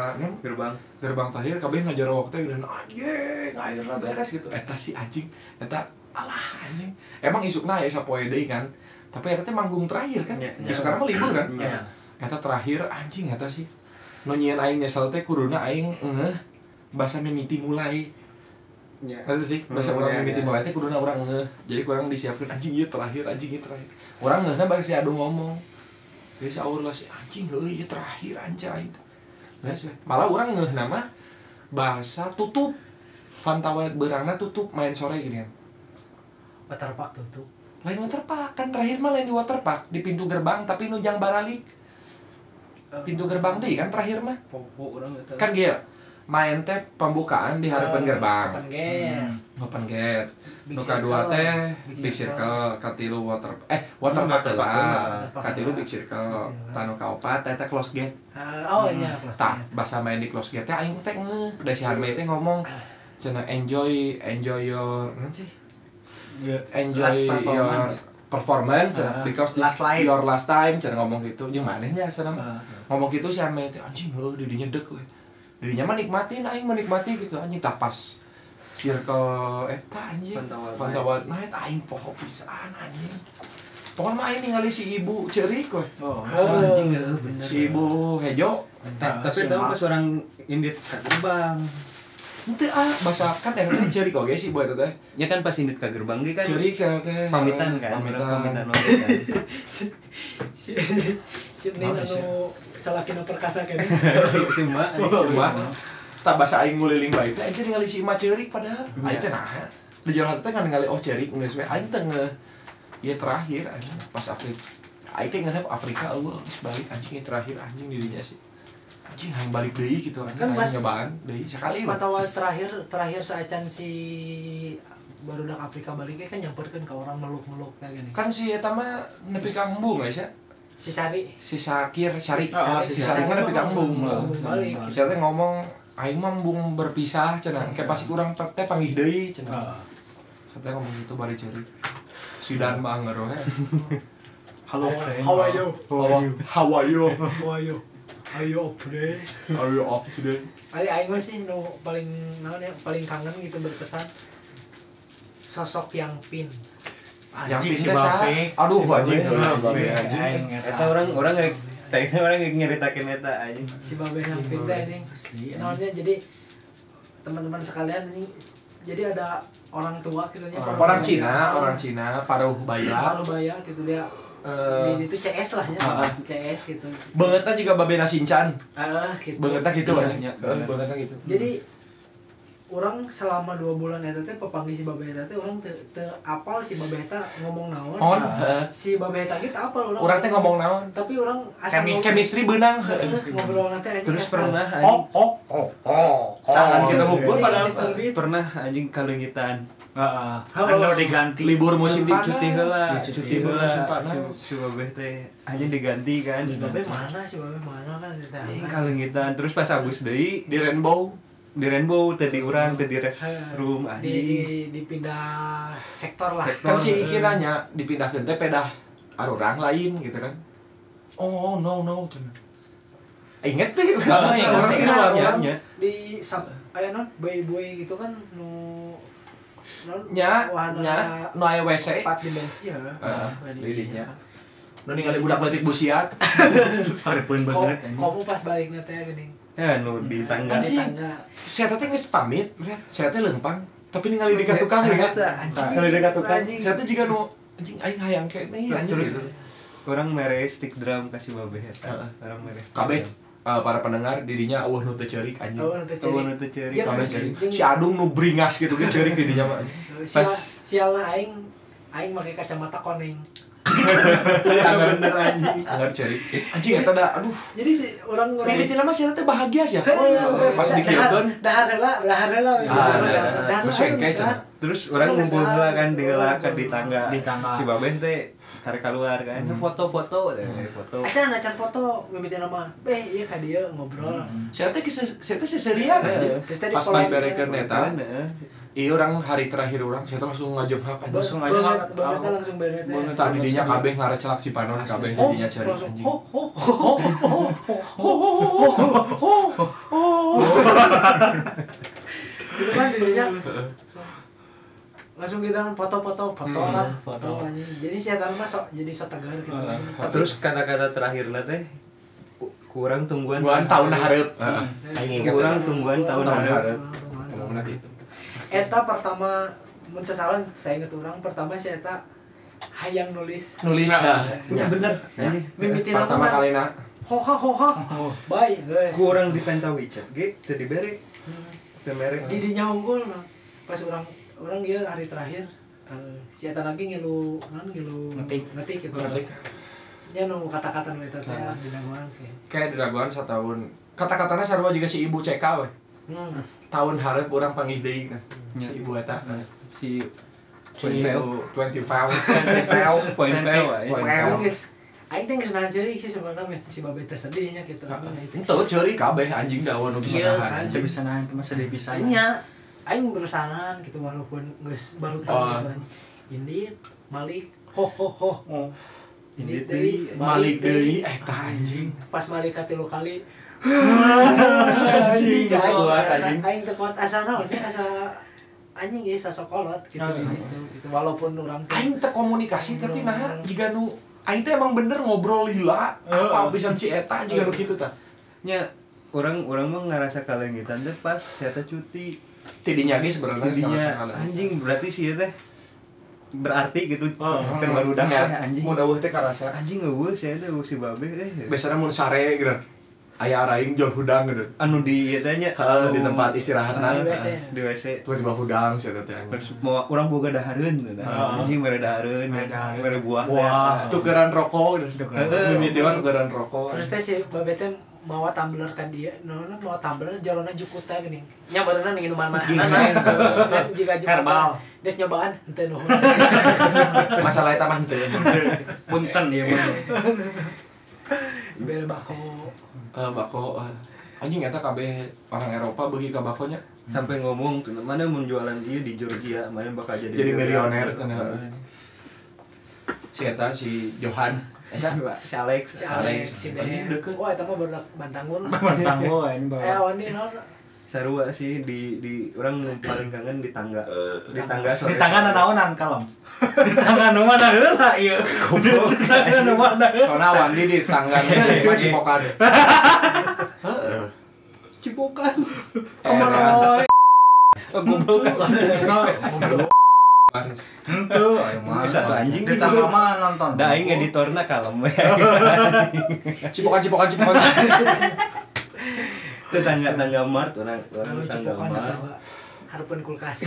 gerbang terakhir kabeh ngajorowok teh dan anjing ayeuna beres gitu. Eta si anjing eta alah anjing. Emang isukna aya sapoe deui kan. Tapi eta teh manggung terakhir kan. Besok sekarang mah libur kan. Nya. Eta terakhir anjing eta sih. Nu nyieun aing nyesel teh kuduna aing ngeuh basa mimiti mulai. Nya. Eta sih basa urang Ya, mimiti ya. mulai teh kuduna urang ngeuh. Jadi kurang disiapkeun anjing ieu terakhir, anjing ieu terakhir. Urang ngeuhna bari si Adu ngomong. Jadi si Aur lah si anjing heuh ieu terakhir anjing. Geus we. Malah urang ngeuhna mah bahasa tutup. Fanta Wild beurangna tutup main sore gini kan. Waterpark tutup. Lain waterpark kan terakhir mah lain di waterpark di pintu gerbang tapi nu jang baralik. Pintu gerbang deui kan terakhir mah. Popo urang eta. Kan gitu main teh pembukaan di harapan gerbang Open gate. open gate Big nu kadua Circle. teh Big big Circle. circle katilu waterpark Waterpark lah lah. katilu big circle tanu kaopat teh close gate Oh nya, close tah gate. bahasa main di close gate teh aing teh ngeuh da si Harmay teh ngomong cenah enjoy your naon sih enjoy Last your performance. performance because this Last life. your last time cenah ngomong gitu jeung manehnya cenah Ah. ngomong gitu si Harmay teh anjing heuh didinya deuk we dirinya mah nikmatin aing menikmati gitu anjing tapas circle eta anjing Fanta Wild Night aing poho pisan anjing pokoknya mah aing ningali si ibu ceurik we Oh. anjing heuh bener. si ibu Hejo Tapi tahu pas orang indit ka gerbang. henteu bahasa kan eta teh ceurik oge sih buat eta teh Ya kan pas indit ka gerbang ge kan ceurik saya teh pamitan kan. pamitan oge kan. Si Nina nu salakina perkasa kan. Si Mbak. tak bahasa aing nguliling bae teh aing teh ningali si Ima ceurik padahal aing teh nah di jalan teh kan ningali oh ceurik geus we aing teh ieu terakhir anjing pas Afrika aing teh ngarep Afrika eueuh geus balik anjing ieu terakhir anjing dirinya sih anjing hayang balik deui gitu anjing Kan hayang Mas, nyobaan deui sekali we. Mata terakhir saacan si barudak Afrika balik kan nyamperkeun ka orang meluk-meluk kayak gini. Kan si eta mah nepi ka embung guys ya. Si Sari Si Syakir, Syari. Ah, Si Syari mah nepi ka embung. Embung balik. Si teh ngomong aing mah embung berpisah cenah. Kayak pasti kurang teh panggih deui cenah. Si teh ngomong gitu bari ceurik. Si Dan mah ngeureun he. Halo friend. How are you? How are you? How are you? Ayo play. Are you off today? Ali aing mah sih nu paling naon ya, paling kangen gitu berkesan sosok yang Pin. Yang Si pindah Bape. Aduh anjing. Si Bape. Anjing. Eta orang rek tanya orang nyeritakeun eta anjing. Si Babe yang Pin teh anjing. Naonnya jadi teman-teman sekalian ini jadi ada orang tua gitu nya Orang Cina, paruh bayak. Paruh bayak gitu dia. Di itu CS lah ya. CS gitu. Beungeutna juga babena Shinchan. Gitu. Beungeutna gitu anjing. Iya. Beungeutna gitu. Jadi orang selama 2 bulan eta teh pepanggih si Babe eta teh orang teu apal si Babe eta ngomong naon. On, Si Babe eta ge teu apal orang. urang teh ngomong naon? Tapi orang asal Chemistry beunang. ngobrol nanti anjing. Terus asal. pernah anjing Tangan kita ngumpul Jadi, padahal Mr. Beat. pernah anjing kalengitan. Heeh. Halo. Anu diganti. libur musim panas. Cuti heula, Si cuti libur heula. musim panas. Si Babeh teh anjing diganti kan. Si Babe mana? Si Babe mana kan eta. Anjing kalengitan terus pas abus deui Di Rainbow. di Rainbow teh di urang teh di restroom anjing. Dipindah sektor lah. Kan si Iki nanya dipindahkeun teh pedah arurang lain gitu kan. Oh no cenah. Ingat deh, orang Ingat, itu orang namanya. di aya non boy gitu kan nu non Nya, wahana nu aya WC. tempat di bensi ya. Lidinya. Nu ningali budak leutik busiat. Hareupeun banget anjing. Kamu pas balik teh geuning. Ya nu di tangga. Anjing. Saya teh geus pamit, saya teh leumpang. Tapi ningali dekat tukang ya. Ningali dekat tukang. Saya teh juga nu anjing aing hayang kene anjing Terus gitu. orang mere stick drum kasih Babeh eta. Orang mere stick Kabeh. drum. para pendengar didinya eueuh nu teu ceurik anjing. Eueuh nu teu ceurik. Kabeh ceurik. Si Adung nu bringas gitu ge ceurik didinya mah. Sialna aing make kacamata koneng. Anggar bener anjing. Anggar ceurik. Anjing eta da aduh. Jadi si urang mimitina mah sia teh bahagia sia. Pas dikieukeun dahar heula. Geus wengke cenah. Terus orang ngumpul heula kan di tangga. Si Babeh teh tarik keluar kan foto-foto acan foto mimitina mah ieu ka dieu ngobrol sia teh seserian pas main berekeun eta ieu urang hari terakhir urang sia teh langsung ngajeunghak langsung beres tadi dinya kabeh ngarecelak si Panon kabeh dinya cari anjing gitu kan dinya langsung kita foto lah anjing. Jadi si eta mah jadi tegar gitu. Terus kata-kata terakhirna teh kurang tungguan tahun hareup. Kurang tungguan tahun hareup. Ngomongna kitu. Eta pertama mun teu salah saya inget urang pertama si eta hayang nulis. Ya bener. Mimitina pertama kalina. Hoha. Bye guys. Kurang dipenta WeChat ge teu dibere. Teu mere. Di dinya unggul pas orang dia hari terakhir si eta lagi ngilu ngetik gitu. Nya nu kata-kata nu eta teh di daguan kayak di daguan satahun. Kata-katana sarua juga si ibu CK we. Tahun hareup urang panggih deui kan. Si ibu eta si 25 aing teh geus nahan ceurik sih sebenarnya si Babeh teh sedihnya gitu. Henteu ceurik kabeh anjing dawan nu bisa nahan. Teu bisa nahan teh mah sedih pisan. Aing berusahaan gitu walaupun geus baru tahu ini Malik ho ini deui Malik deui eta anjing pas Malik ka 3 kali anjing aing teu kuat asa naon sih asa anjing geus sasokolot gitu gitu walaupun urang aing teu komunikasi tapi nah jiga nu aing teh emang bener ngobrol lila apa pisan si eta jiga nu kitu tah nya urang mah ngarasa kalengitan teh pas saya teh cuti tidinya ge sebenarnya anjing berarti sih teh berarti gitu kan baru dak teh anjing mun eueuh teh karasa anjing eueuh saya teh si Babeh biasana mun sare gitu aya araing jual hudang gitu anu di ieu teh nya di tempat istirahatna di WC tiba-tiba hudang sia teh mau urang boga dahareun anjing mere dahareun mere buah tukeran rokok mimitiwa tukeran rokok terus teh si Babeh teh mawa tumbler kan dia mawa tumbler jalona jukuta geuning nya beureunan minuman mahal kan jika herbal dia nyobaan henteu nuhun masalah eta mah henteu punten ieu mah bere bako anjing eta kabeh orang Eropa beuki ka bakonya sampai ngomong tuh mana mun jualan ieu di Georgia mana bakal jadi milioner cenah si eta si Johan si Alex si Ben deukeut wah eta mah barudak Bantangur anjing bawa wani naon sarua sih di orang paling kangen di tangga sore di tangga naonan kalem di tangga nu mana heula ieu goblok di tangga nu mana soalna Wandi di tangga Cipokan heeh Cipokan kemana goblok henteu ayo mah satu anjing di tangga mah nonton da aing editorna kalem we Cipokan tetangga Mart orang tangga Mart hareupeun kulkas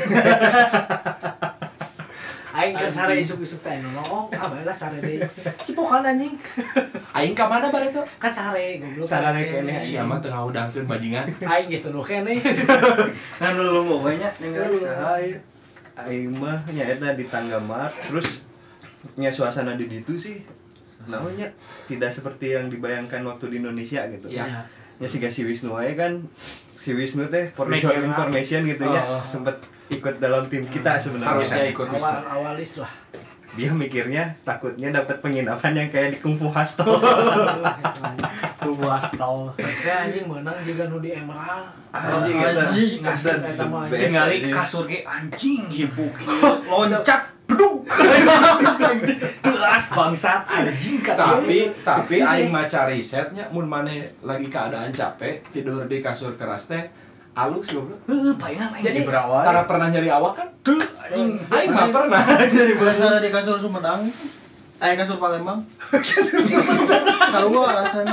aing keur sare isuk-isuk teh nolong bae lah sare deui Cipokan anjing aing ka mana bare itu kan sare goblok sare keneh sia mah teu ngaudangkeun bajingan aing geus tuduh keneh kan lu mau nya ninggal saha aing mah nya eta di tangga Mart terus nya suasana di ditu sih namanya tidak seperti yang dibayangkan waktu di Indonesia gitu ya si Wisnu aja kan si Wisnu teh for your information gitu ya sempet ikut dalam tim kita sebenarnya harusnya ikut awalis lah dia mikirnya takutnya dapat penginapan yang kayak di Kung Fu Hostel saya anjing menang juga nu di Emerald anjing tinggali kasur ge anjing hibuk loncat beduk telas bangsat anjing tapi aing maca risetnya mun maneh lagi keadaan capek tidur di kasur keras teh alus goblok palingan jadi berawal karena pernah nyari awak kan tuh aing mah pernah nyari biasa di kasur Sumedang kasur Palembang kalau gua rasanya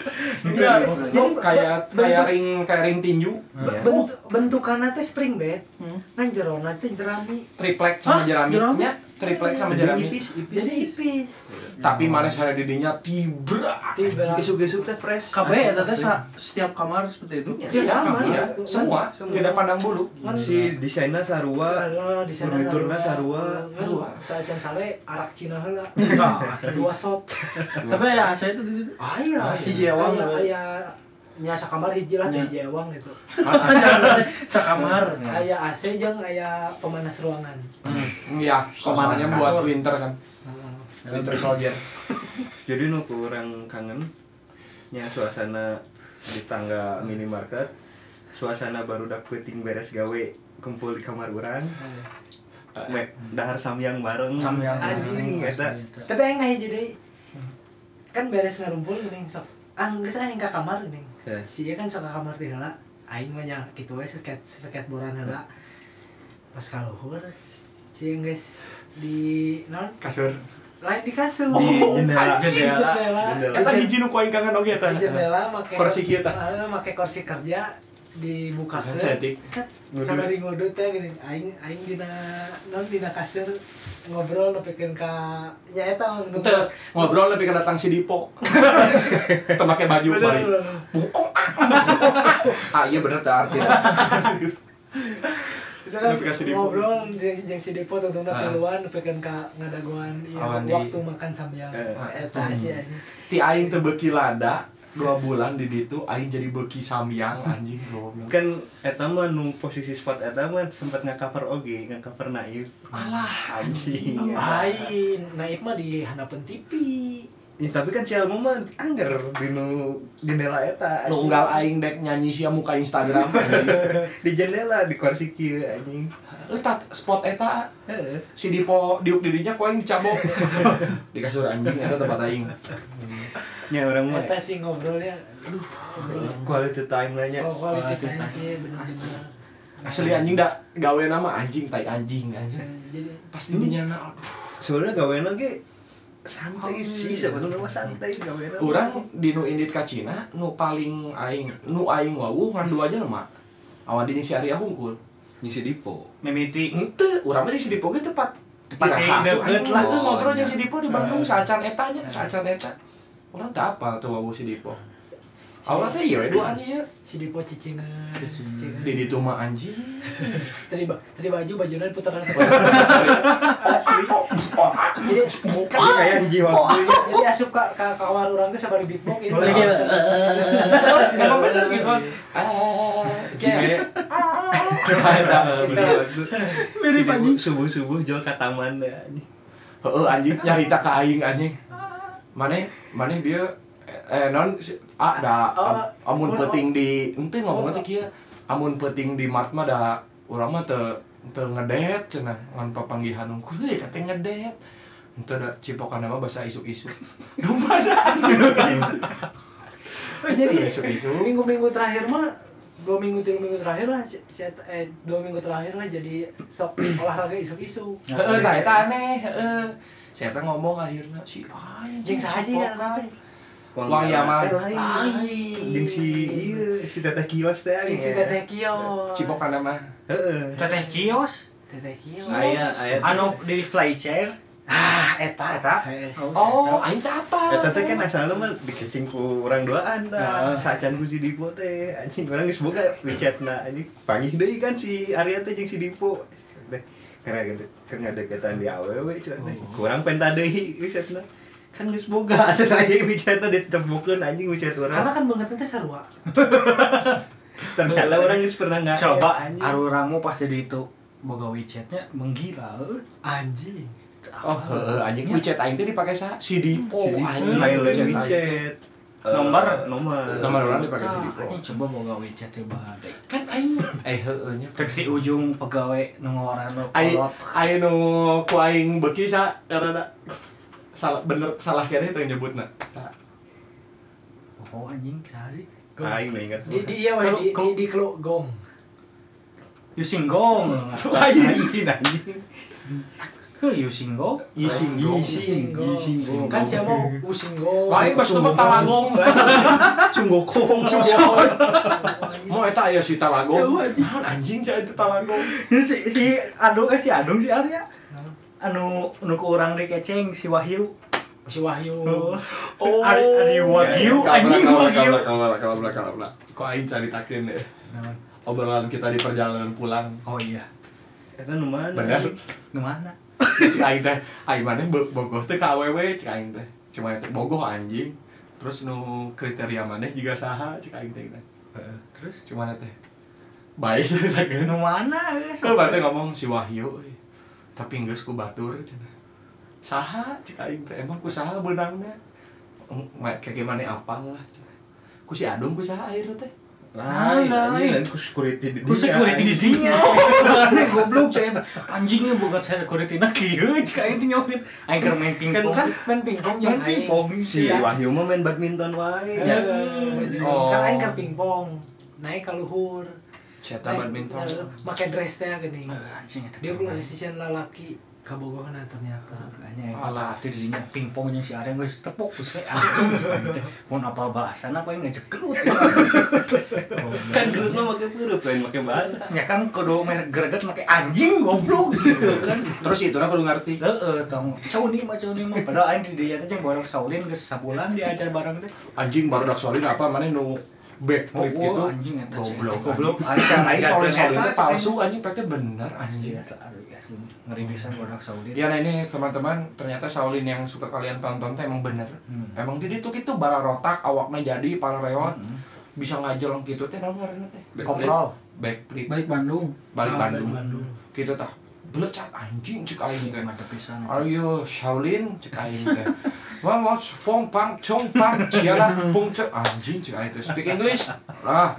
kayak ring tinju. Bentukanna teh spring bed. Kan jerona teh jerami. Triplek sama jeraminya, triplek sama jerami. Jadi ipis. Tapi mana saya didinya tibra. Gesuk-gesuk teh fresh. KB eta teh setiap kamar seperti itu. Setiap kamar. Iya, semua tidak pandang bulu. Si desainnya sarua, furniturna sarua. Saacan sale arak Cina heula. Enggak, 2 shot. tapi ya saya itu di situ. Aya, hiji ewang. Aya nya sakamar hiji lah di hiji ewang gitu. Sakamar. Aya AC jeung aya pemanas ruangan. Iya, komandannya buat winter kan. Winter soldier. Jadi nu kurang kangen nya suasana di tangga minimarket. Suasana baru dak peuting beres gawe kumpul di kamar urang. Dahar samyang bareng. Anjing eta. Tapi aing hiji deui. Kan beres ngarumpul geuning sok. Geus aing ka kamar geuning. Si ieu kan sok ka kamar ti heula. Aing mah nya kitu we seket boran heula. Pas ka luhur si geus di naon? Kasur. Lain di kasur. Di jendela. Eta hiji nu ku aing kangen oge eta. Di jendela make kursi kieu tah. Make kursi kerja dibukakeun. Setik. Sabari ngudut teh geuning aing dina naon dina kasur ngobrol nepikeun ka nya eta ngobrol lebih ke datang si Dipo. Teu make baju bari. Iya bener teh artinya. Itu kan ngobrol jeung si Depo tungtungna tiluan nepikeun ka ngadaguan waktu makan samyang. Eta sih anjing. Ti aing teu beuki lada 2 bulan di ditu aing jadi beuki samyang anjing goblok. Kan eta mah nu posisi spot eta mah sempat nge-cover oge, nge-cover Naif. Alah anjing. Lain, Naif mah di handapeun TV. Ya, tapi kan si Alma mah angger di nu jendela eta. Nunggal aing dek nyanyi sia muka Instagram anjing. Di jendela di kursi kieu anjing. Eta spot eta si Dipo diuk di dinya ku aing dicabok. Di kasur anjing eta tempat aing. Nya orang mah eta sih ngobrolnya aduh quality time lah nya. Quality time sih bener-bener. Asli anjing da gawe nama anjing tai anjing. Jadi Pasti dinya aduh. Sebenarnya gaweana ge santai sih sebenarnya mah santai gaweana. Urang di nu indit ka Cina nu paling aing wawuh ngan dua aja mah. Awan di si Arya hungkul. Nyisi Dipo. Mimiti. Henteu, urang mah di si Dipo ge tepat deket lah ngobrol jeung si Dipo di Bandung saacan eta nya, saacan eta. Urang teu apal tuh wawuh si Dipo. Awal teh ieu duaan ieu. si Dipo cicingan. Di ditu mah anjing. Tadi bajuna diputer. Asli. Jadi Kayak hiji waktu. jadi asup ka kamar urang teh sabari beatbox gitu. Emang bener gitu. Kayak Mirip anjing subuh-subuh jual ka taman deh anjing. Heeh anjing nyarita ka aing anjing. Maneh dia non amun peuting di henteu ngomongna teh kieu. Amun peuting di mat mah da urang mah teu ngedet cenah ngan papanggihan unggul eta teh ngedet. Henteu da cipokanna mah basa isuk-isuk. Dumada anjing. jadi Isu-isu. minggu-minggu terakhir mah 2 minggu 3 minggu terakhir lah 2 minggu terakhir lah jadi sok olahraga isu-isu. Heeh tah eta aneh heeh. Saya teh ngomong akhirnya si Jeung saha sih kan? Wang Yaman. Lain. Jeung si ieu si Teteh Kios teh. Si Teteh Kios. Cipokanna mah. Heeh. Teteh kios. Teteh Kios. Aya Anu di fly chair. Eta. Oh, aing teh apa? Eta teh kan asalna mah dikecing ku urang duaan tah. Sacan ku si Dipo teh. Anjing urang geus boga WeChat-na anjing. Panggih deui kan si Arya teh jeung si Dipo. Karena ngadeketan di awewe cuman teh. Kurang penta deui WeChat-na. Kan geus boga atuh aya WeChat-na ditemukeun anjing WeChat urang. Karena kan banget teh sarua. Ternyata orang geus pernah enggak. Coba arurangmu pas di itu boga WeChat-nya menggila. Anjing. Oh, heeh anjing WeChat aing teh dipake saha? Si Dipo anjing. Lain WeChat. Nomor urang dipake si Dipo. Ini coba boga WeChat teh bade. Kan aing heueuh nya. Di ujung pegawai nu ngaran nu kolot. Aing nu ku aing beuki sa karena salah kene teh nyebutna. Oh anjing saha sih? Aing mah ingat. Di iya we di gong. Using gong. Lain anjing. Yusinggo. Kan siapa mau Usinggo. Lain pas nama Talagong. Sunggokong. Mau eta aya si Talagong. Anjing saya itu Talagong. Si Adung si Arya. Anu ku urang dikeceng si Wahyu. Si Wahyu. Oh. Ari Wahyu anjing Wahyu. Kalau kok aing caritakeun deh. Obrolan kita di perjalanan pulang. Oh iya. Eta nu mana? Bener. Nu mana? Cik aing teh, aing maneh bogoh teh ka awewe cik aing teh. Cuma teh bogoh anjing. Terus nu kriteria maneh juga saha cik aing teh. Terus Cuma teh bae caritakeun. nu mana geus? Kau berarti ngomong si Wahyu, tapi geus ku batur cenah. Saha cik aing teh emang ku saha beunangna? Kayak gimana apal lah. Ku si Adung ku saha akhirna teh. Lain, anjing ku security di Ku security di dinya. Goblok cai anjingnya bukan saya security na kieu cik aing teh nyawin. Aing keur main pingpong. Kan main pingpong yang aing. Si Wahyu mah main badminton wae. Kan aing keur pingpong. Naik ka luhur. Cetak badminton. Make dress teh geuning. Anjing eta. Dia pula sisian lalaki kabogohna ternyata. Hanya alah teh dinya pingpong jeung si Areng geus tepuk geus we anjing. Mun apal bahasana apa yang ngejek gelut. Kan gelut mah make peureut lain make bata. Ya kan kudu greget make anjing goblok gitu kan. Terus itu kudu ngerti. Tong cauni mah padahal aing di dieu teh jeung Borok Saulin geus sabulan diajar bareng teh. Anjing baru dak solin apa maneh nu backflip gitu. Anjing eta Goblok. Aing Aing solin eta palsu anjing pake bener anjing anjing. eta asli ngeri pisan Borok Saulin. Ya nah ini teman-teman ternyata Shaolin yang suka kalian tonton teh emang bener. Emang di ditu kitu bara rotak awakna jadi para reot. Bisa ngajeleng kitu teh naon ngaranna teh? Koprol. Backflip. Balik Bandung. Balik Bandung. Kitu tah. Belecat anjing cek aing teh. Mantep pisan. Are you Shaolin cek aing teh. Wah, fong pang chong pang ciala pung cek anjing cek aing teh. Speak English. Lah.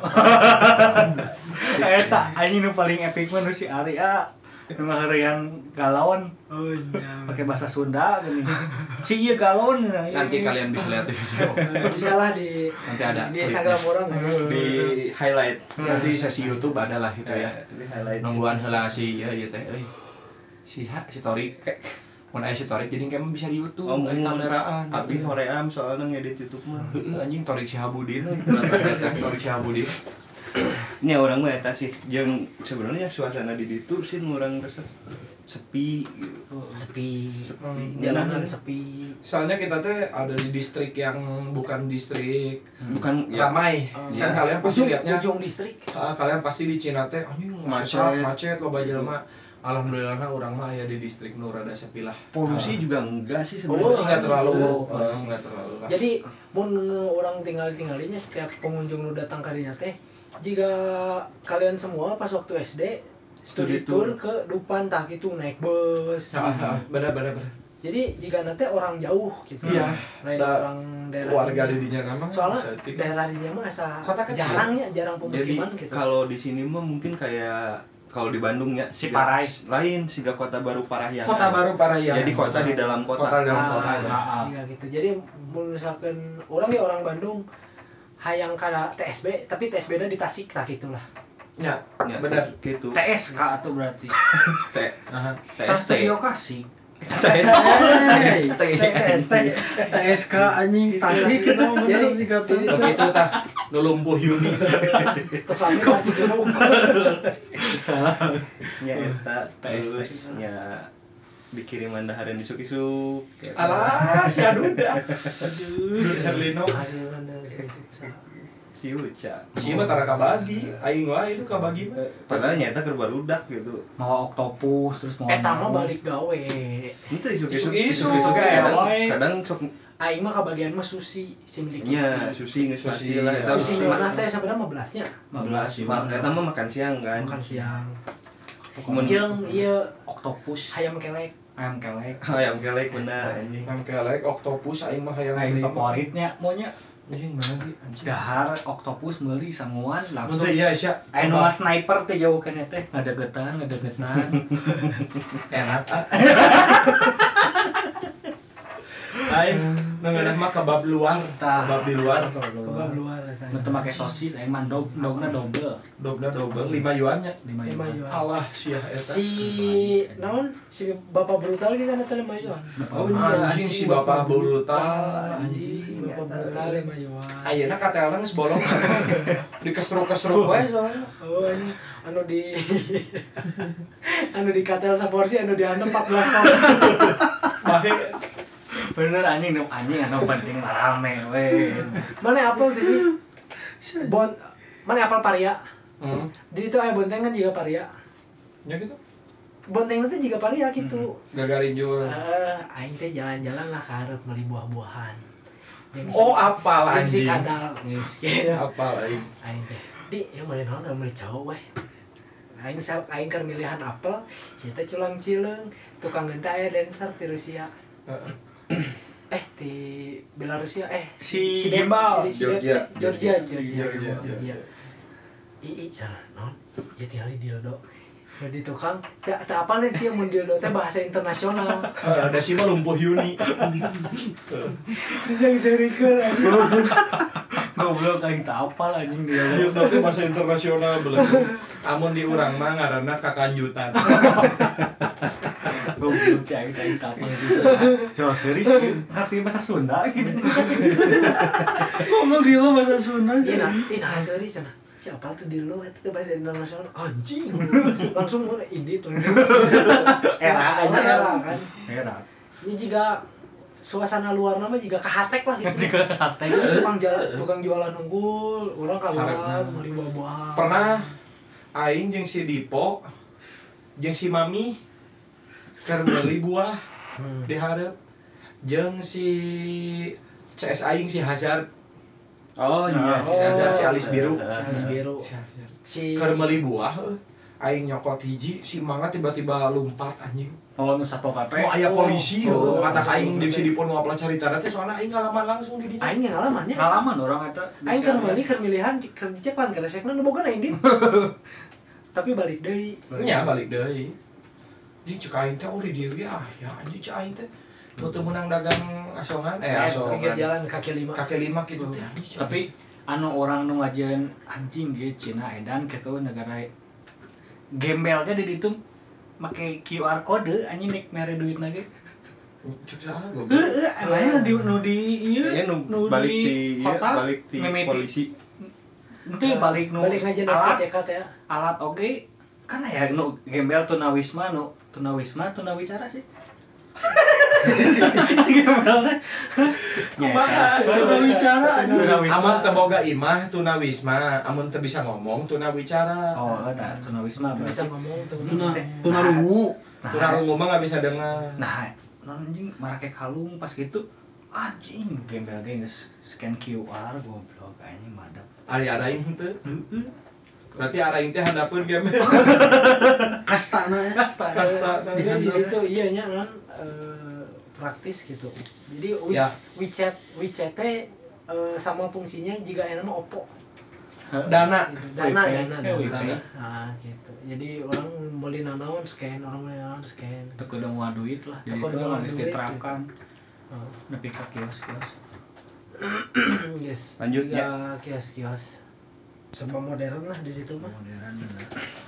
Eta anjing nu paling epic mah nu si Arya. Nu ngaheurean galon. Oh iya. Pakai bahasa Sunda gini. Si ieu galon. Nanti kalian bisa lihat di video. Bisa lah di Nanti ada di Instagram orang Di highlight. Nanti sesi YouTube ada lah itu ya. Di highlight. Nungguan heula si ieu teh euy. Si Torik. Mun aya si Torik jadi kayak bisa di YouTube. Kameraan. Abi hoream soalnya ngedit YouTube mah. Heeh anjing Torik Sihabudin. Torik Sihabudin. Nya orang mah eta sih jeung sebenarnya suasana di ditu sih urang rasa sepi gitu. sepi. Sepi. Jalanan sepi. Soalnya kita teh ada di distrik yang bukan distrik Bukan ya, ramai. Ya. Kan kalian pasti lihatnya Ujung distrik. kalian pasti di Cina teh anjing macet loba jelema. Alhamdulillah urang mah aya di distrik nu rada sepi lah. polusi juga enggak sih Polusi sebenarnya. enggak terlalu Polusi. enggak terlalu lah. Jadi mun orang tinggal-tinggalinya setiap pengunjung nu datang ka dinya teh jika kalian semua pas waktu SD studi tour ke Dupan tah gitu naik bus. Benar. Jadi jika nanti orang jauh gitu. Iya. Orang daerah Warga dinya. di dinya nama Soalnya daerah dinya mah asa Kota kecil. jarang Jadi pemukiman gitu. kalau di sini mah mungkin kayak kalau di Bandung ya Ciparai. lain siga kota baru Parahyangan. Kota baru Parahyangan. Jadi kota di dalam kota. Kota di dalam kota. Jika gitu. Jadi misalkan orang ya orang Bandung hayang kana TSB tapi TSB-na di Tasik tah gitulah. Ya, Ya, benar. gitu. TSK atau berarti. TST. Lokasi. TST. TSK anjing Tasik kita mah bener sih kata. Jadi Oke itu tah nu lumpuh Yuni. terus lagi masih jauh. Nya eta terus nya dikirim andahareun di Sukisuk. Alah, si Aduda. Aduh, Herlino. Si Uca. Si mah tara kabagi, aing wae itu kabagi mah. Padahal nyata keur barudak gitu. Mau oktopus terus mau. Eta mah balik gawe. Itu Isuk-isuk, isuk-isuk kadang sok Aing mah kabagian mah susi si milik. nya susi geus Susi, pasti lah. eta Susi mana teh sabarang 15-nya. 15 Eta mah makan siang kan. Makan siang. Mun Jeung ieu oktopus, hayam kelek. ayam kelek. ayam kelek bener anjing. Yang kelek oktopus aing mah hayang Ayam beli. favoritnya maunya Anjing mana di anjing. dahar oktopus meuli sanguan langsung. Iya, Isya. Aya nu sniper teh jauh kana teh ngadegetan. Enak. Lain ngeunah mah kebab luar, Tah. kebab di luar. Kebab luar eta. Nu teu make sosis aing mah dogna double. Dobna double 5 yuannya. 5 5 yuan. yuan. Allah sia eta. Si naon si bapak brutal ge kan eta 5 yuan. Oh Anjing si bapak brutal anjing. Bapak brutal 5 yuan. Ayeuna katelna geus bolong. Dikesruk-kesruk wae soalnya. Oh ini anu di anu di katel saporsi anu dihandap 14 porsi. Bae Bener anjing anu penting rame we. Mana apel di sini? Mana apel paria? Di itu aya bontengan juga paria. nya gitu. Bonteng teh juga paria gitu. Gagarinjul. Aing teh jalan-jalan lah ka hareup meuli buah-buahan. Oh, apal Jeung si anjing. kadal geus kieu. Apal aing. Aing teh. Di, ya meuli naon meuli cowok we. Aing keur milihan apel, si teh culang cileung, tukang teh aya dancer ti Rusia. Di Belarusia Si Gimbal. Georgia. Georgia. Ii salah non ya tinggal di dildo di tukang tak apa nih sih mun dildo teh bahasa internasional Ada sih mah lumpuh Yuni. bisa ngeserikeun aja Goblok aing teu apal anjing dia. Dildo teh bahasa internasional belum. Amun di urang mah ngaranna kakanjutan. Goblok cai teu apal gitu. Coba serius ngerti bahasa Sunda gitu. Ngomong di lo bahasa Sunda. nah sorry cenah siapa tuh dildo itu bahasa internasional anjing langsung mun ini tuh era kan ini juga suasana luar nama juga kehatek lah gitu Juga hate. tukang jualan unggul orang kaluar meuli buah-buahan Pernah aing jeung si Dipo jeung si Mami keur meuli buah di hareup jeung si CS aing si Hazard Oh iya. si Alis Biru. Alis Biru. Si Keur meuli buah aing nyokot hiji si mangga tiba-tiba lompat anjing. Oh nu satpol PP. Oh aya polisi Oh, mata aing jeung si Dipo nu apal carita teh soalna aing ngalaman langsung di dinya. aing yang ngalamannya. Pengalaman orang eta. Aing keur meuli keur milihan keur dicek pan keur sekna nu boga aing dit. Tapi balik deui. Nya balik deui. Jeung cek aing teh uri dieu ya anjing cek aing teh. Nu teu meunang dagang asongan Pinggir jalan kaki lima. kaki lima gitu teh anjing. Tapi anu orang nu ngajian anjing ge Cina edan kitu negara gembel ge di ditu make QR code anjing nek mere duitna ge. Cek saha goblok. Aya nu di ieu Iya nu balik di balik di polisi. Henteu balik nu Balik ngajian alat SKCK teh ya. alat oge kan aya nu gembel tunawisma tunawicara sih. Gembel Kumaha? Tunawicara Amun teu boga imah tunawisma, amun teu bisa ngomong tunawicara. Oh, eta tunawisma Bisa berarti. ngomong tuh. tunarungu. Tunarungu mah enggak bisa dengar. Nah, anjing marake kalung pas gitu anjing gembel ge geus scan QR goblok anjing madap. Ari araing henteu. Berarti araing teh handapeun game. Kastana ya. Kasta. Jadi itu iya nya non praktis gitu. Jadi Ya. WeChat teh sama fungsinya jika enak Oppo. Dana. Dana. Dana. Gitu. Jadi orang meuli nanaon scan, orang meuli nanaon scan. Teu kudu moal duit lah. Jadi Teu kudu itu moal geus duit, diterapkan. Nepi ka kios-kios. Yes. Lanjut, ya kios-kios. Serba modern lah di situ mah. Modern bener.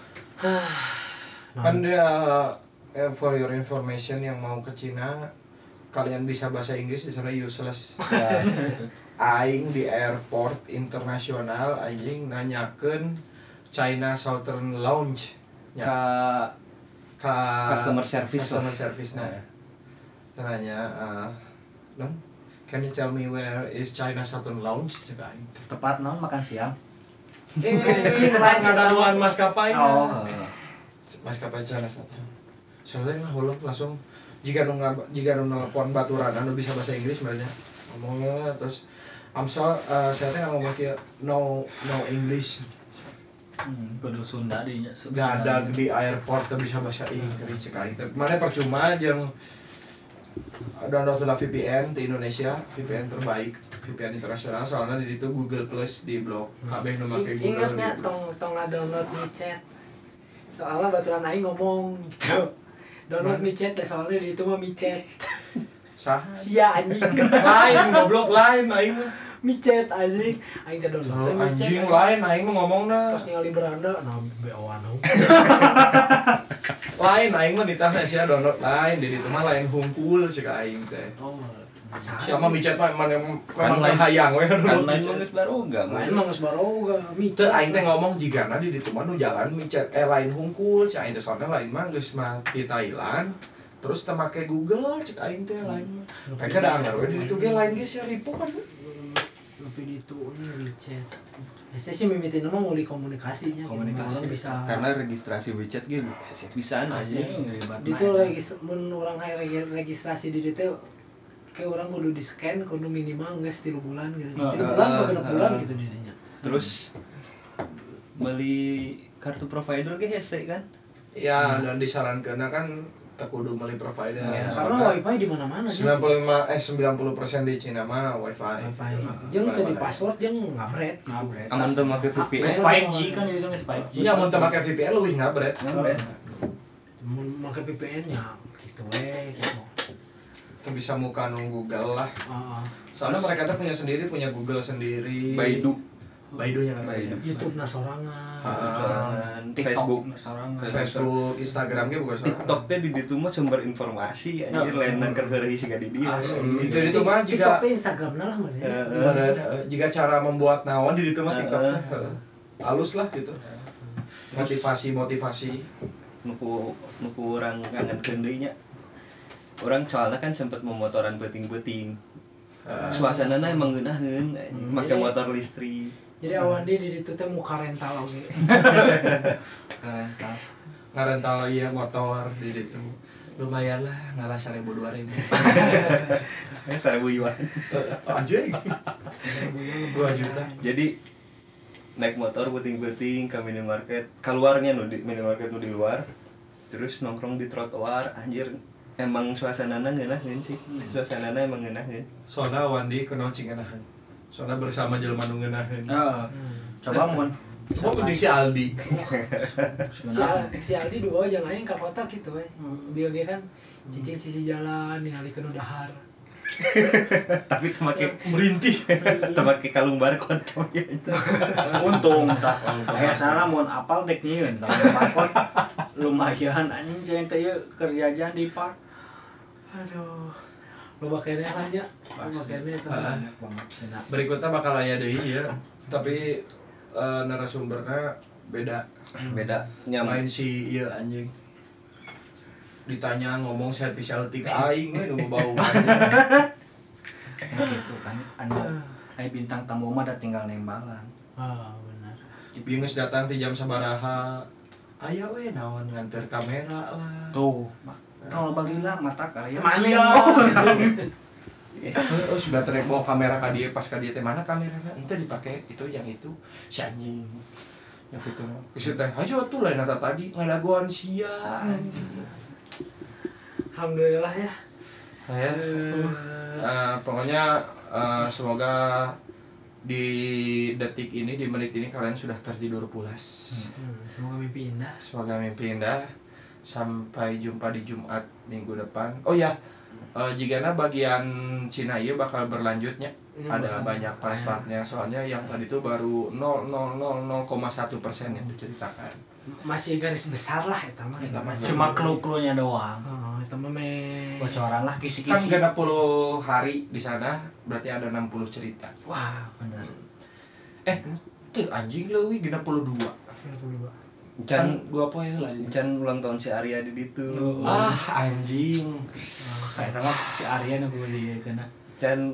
Kan dia for your information yang mau ke Cina, kalian bisa bahasa Inggris di sana useless. Aing di airport internasional anjing nanyakeun China Southern Lounge Ka customer service nah. Nanya non can you tell me where is China Southern Lounge cek aing. Tepat naon makan siang. Ngadaluan maskapai. Oh. Maskapai China Southern. Soalnya mah ulah langsung jika nu nelpon baturan anu bisa bahasa Inggris sebenarnya ngomongnya terus saya teh ngomong kieu no English. Kudu Sunda di nya. Nggak ada di airport teh bisa bahasa Inggris cek aing teh. Mane percuma jeung download lah VPN di Indonesia, VPN terbaik, VPN internasional soalnya di situ Google Plus di blog. Kabeh nu make Google. Ingatnya tong download WeChat. Soalnya baturan aing ngomong gitu. Download WeChat deh soalnya di itu mah WeChat. Saha? Sia anjing. Lain goblok lain aing mah. Micet anjing. Aing teh download. Anjing lain aing mah ngomongna. Pas ningali beranda nah BO-an. Lain aing mah ditanya sia download lain di ditu mah lain hungkul cek aing teh. Oh. Siapa micet mah memang lain hayang we kan lain mah geus baroga. Lain mah geus baroga. Teu aing teh ngomong jigana di ditu mah nu jalan micet lain hungkul cek aing teh soalnya lain mah geus mah di Thailand. Terus teu make Google cek aing teh lain mah. Mereka da anggar we di ditu ge lain ge sia ribu kan. Tapi di itu WeChat. Saya sih mimitin mah nguli komunikasinya. Orang bisa. Karena registrasi WeChat gitu bisa aja. Di itu mun orang registrasi di ditu kayak orang kudu di scan kudu minimal geus 3 bulan gitu. 3 bulan atau 6 bulan gitu didinya. Terus beli kartu provider ge hese kan? Ya, dan disarankeun kan tak kudu meuli provider. Ya, karena wifi di mana-mana. 90% di Cina mah wifi. Jeung teh di password jeung ngabret. Amun teu make VPN. 5G kan itu 5G. Nya mun teu make VPN leuwih ngabret. Mun make VPN nya gitu we gitu. Itu bisa muka Google lah. Soalnya mereka tuh punya Google sendiri. Baidunya kan. YouTube sorangan. Facebook sorangan. Facebook, Instagramnya bukan sorangan. TikTok teh di ditu mah sumber informasi anjir lain keur heureuy siga di dieu. Di ditu mah TikTok juga teh Instagramna lah mah. jika cara membuat naon di ditu mah TikTok teh. Halus lah gitu. Motivasi. Nuku urang ngangenkeun deui nya. Orang soalnya kan sempat memotoran beting-beting. Suasanana emang ngeunaheun, make motor listrik. Jadi awan di ditu teh muka rental oge. Rental. Ngarental ieu motor di ditu. Lumayan lah, ngalah 1.000 2.000. 1.000 yuan. Anjing. 2 juta. Jadi naik motor beting-beting ke minimarket, keluarnya nu di minimarket nu di luar. Terus nongkrong di trotoar, anjir. Emang suasanana ngeunaheun sih. Suasanana emang ngeunaheun. Soalnya Wandi kunaon cing ngeunaheun. Soalnya bersama jelema nu ngeunaheun. Heeh. Coba mun Mending si Aldi. Si Aldi dua aja aing ka kota gitu we. Dia ge kan cicing sisi jalan ningalikeun dahar. Tapi teu make Merintih. teu make kalung barcode ya itu. untung tak. Biasana mun apal dek nyieun tah barcode lumayan anjing jeung teh kerjaan di park. Aduh. Loba keneh lah nya. Loba keneh tah. Berikutnya bakal aya deui ya. Tapi narasumbernya beda. Nyaman. Lain si ieu anjing. Ditanya ngomong selfie aing we nu bau. Gitu kan anu bintang tamu mah da tinggal nembalan. Benar. Ieu geus datang ti jam sabaraha. Aya we naon nganter kamera lah. Tuh, kalau bagilah mata karya Sudah trek bawa kamera ka dieu pas ka dieu teh mana kamerana? Henteu dipake itu yang itu si anjing. Ya kitu mah. Geus teh hajo atuh lain eta tadi ngadagoan sia anjing. Alhamdulillah ya. Ya. Pokoknya semoga di detik ini, di menit ini kalian sudah tertidur pulas. Semoga mimpi indah. Semoga mimpi indah. Sampai jumpa di Jumat minggu depan. Oh ya, jigana bagian Cina ieu bakal berlanjutnya. Ada banyak part-partnya. Soalnya yang tadi itu baru 0,001% yang diceritakan. Masih garis besar lah eta mah. Cuma clue-cluenya doang. Eta mah Bocoran lah Kan kisi-kisi. 60 hari di sana, berarti ada 60 cerita. Wah, bener. Tuh anjing leuwih 62. Kan 2 poe heula. Can ulang tahun si Arya di ditu. Anjing. Eta mah si Arya nu kudu di cenah. Can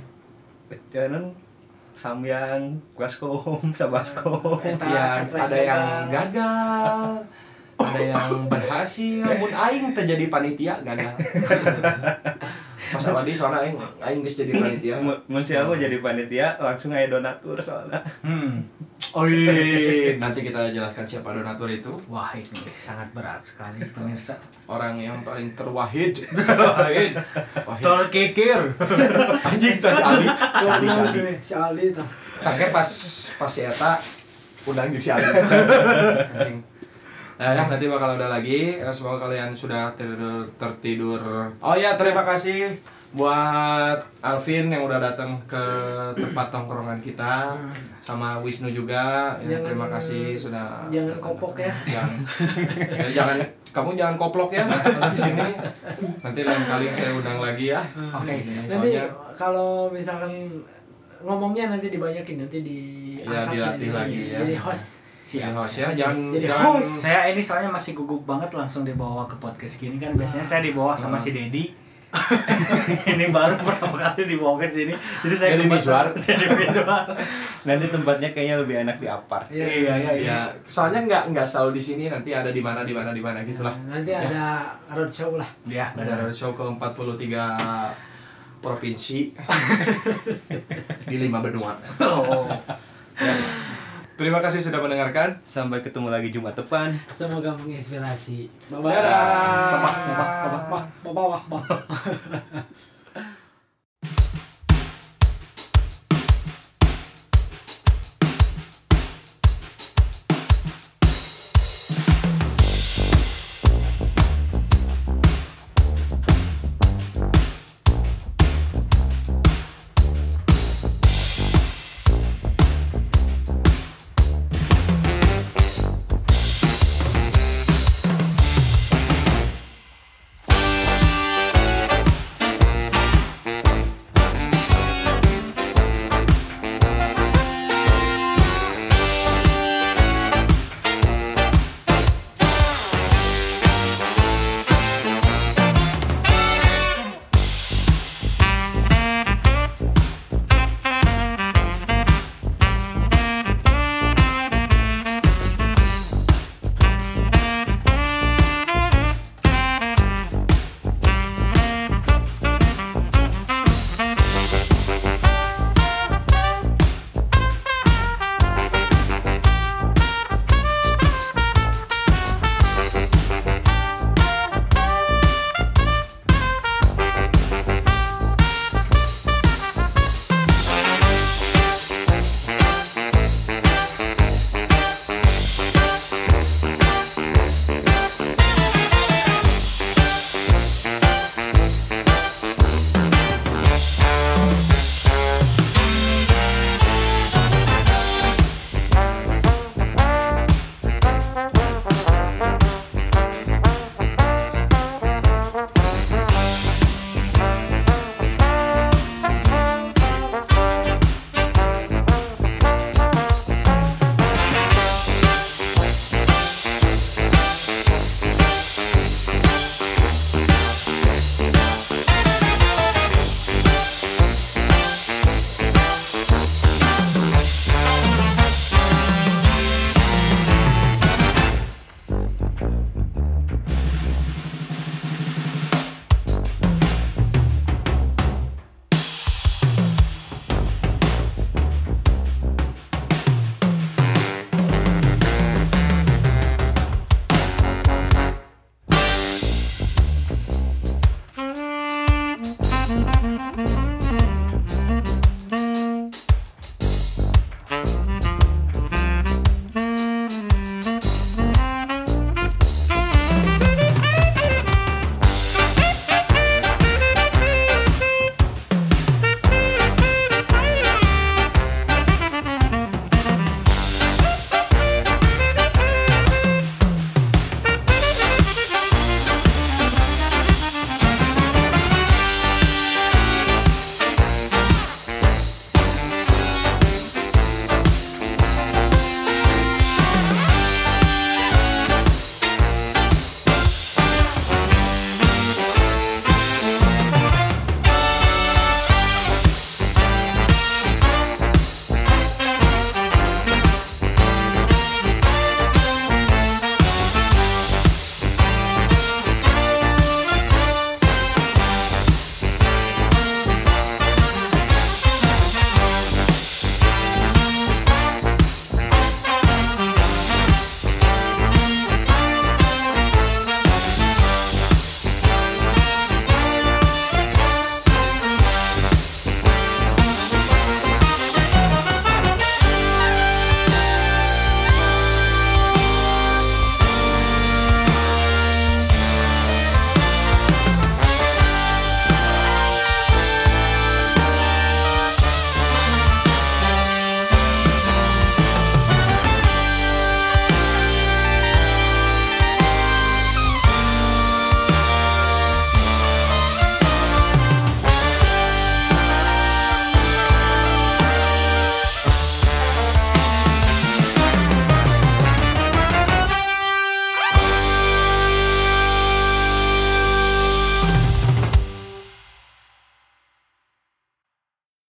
samyang baskom sabaskom. Ya, ada yang gagal, ada yang berhasil. Mun aing teh jadi panitia gagal. Pas Wadi soalnya aing geus jadi panitia. Mun siapa jadi panitia langsung aya donatur soalnya. Oh iya, nanti kita jelaskan siapa donatur itu. Wah, ini sangat berat sekali pemirsa. Orang yang paling terwahid. Wahid. Terkikir. Anjing tas Ali. Si Ali tah. Tapi pas si eta undang jeung si Ali. Anjing. Nah, ya, nanti bakal ada lagi. Semoga kalian sudah tertidur. Oh ya, terima kasih buat Alvin yang udah datang ke tempat tongkrongan kita, sama Wisnu juga. Terima kasih sudah. Jangan kopok ya. Jangan kamu jangan koplok ya di sini. Nanti lain kali saya undang lagi ya. Oke. Nanti kalau misalkan ngomongnya nanti dibanyakin, nanti dilatih lagi ya. Jadi host. Jadi host ya, jangan host. Saya ini soalnya masih gugup banget langsung dibawa ke podcast gini kan. Biasanya saya dibawa sama si Dedi. Ini baru pertama kali dibawa ke sini. Jadi saya jadi visual. Nanti tempatnya kayaknya lebih enak di apart. Iya. Soalnya nggak selalu di sini, nanti ada di mana gitulah. Nanti ada roadshow lah. Ya, ada roadshow ke 43 provinsi di 5 benua. Ya. Terima kasih sudah mendengarkan. Sampai ketemu lagi Jumat depan. Semoga menginspirasi. Bye-bye. Bye-bye. Bye-bye.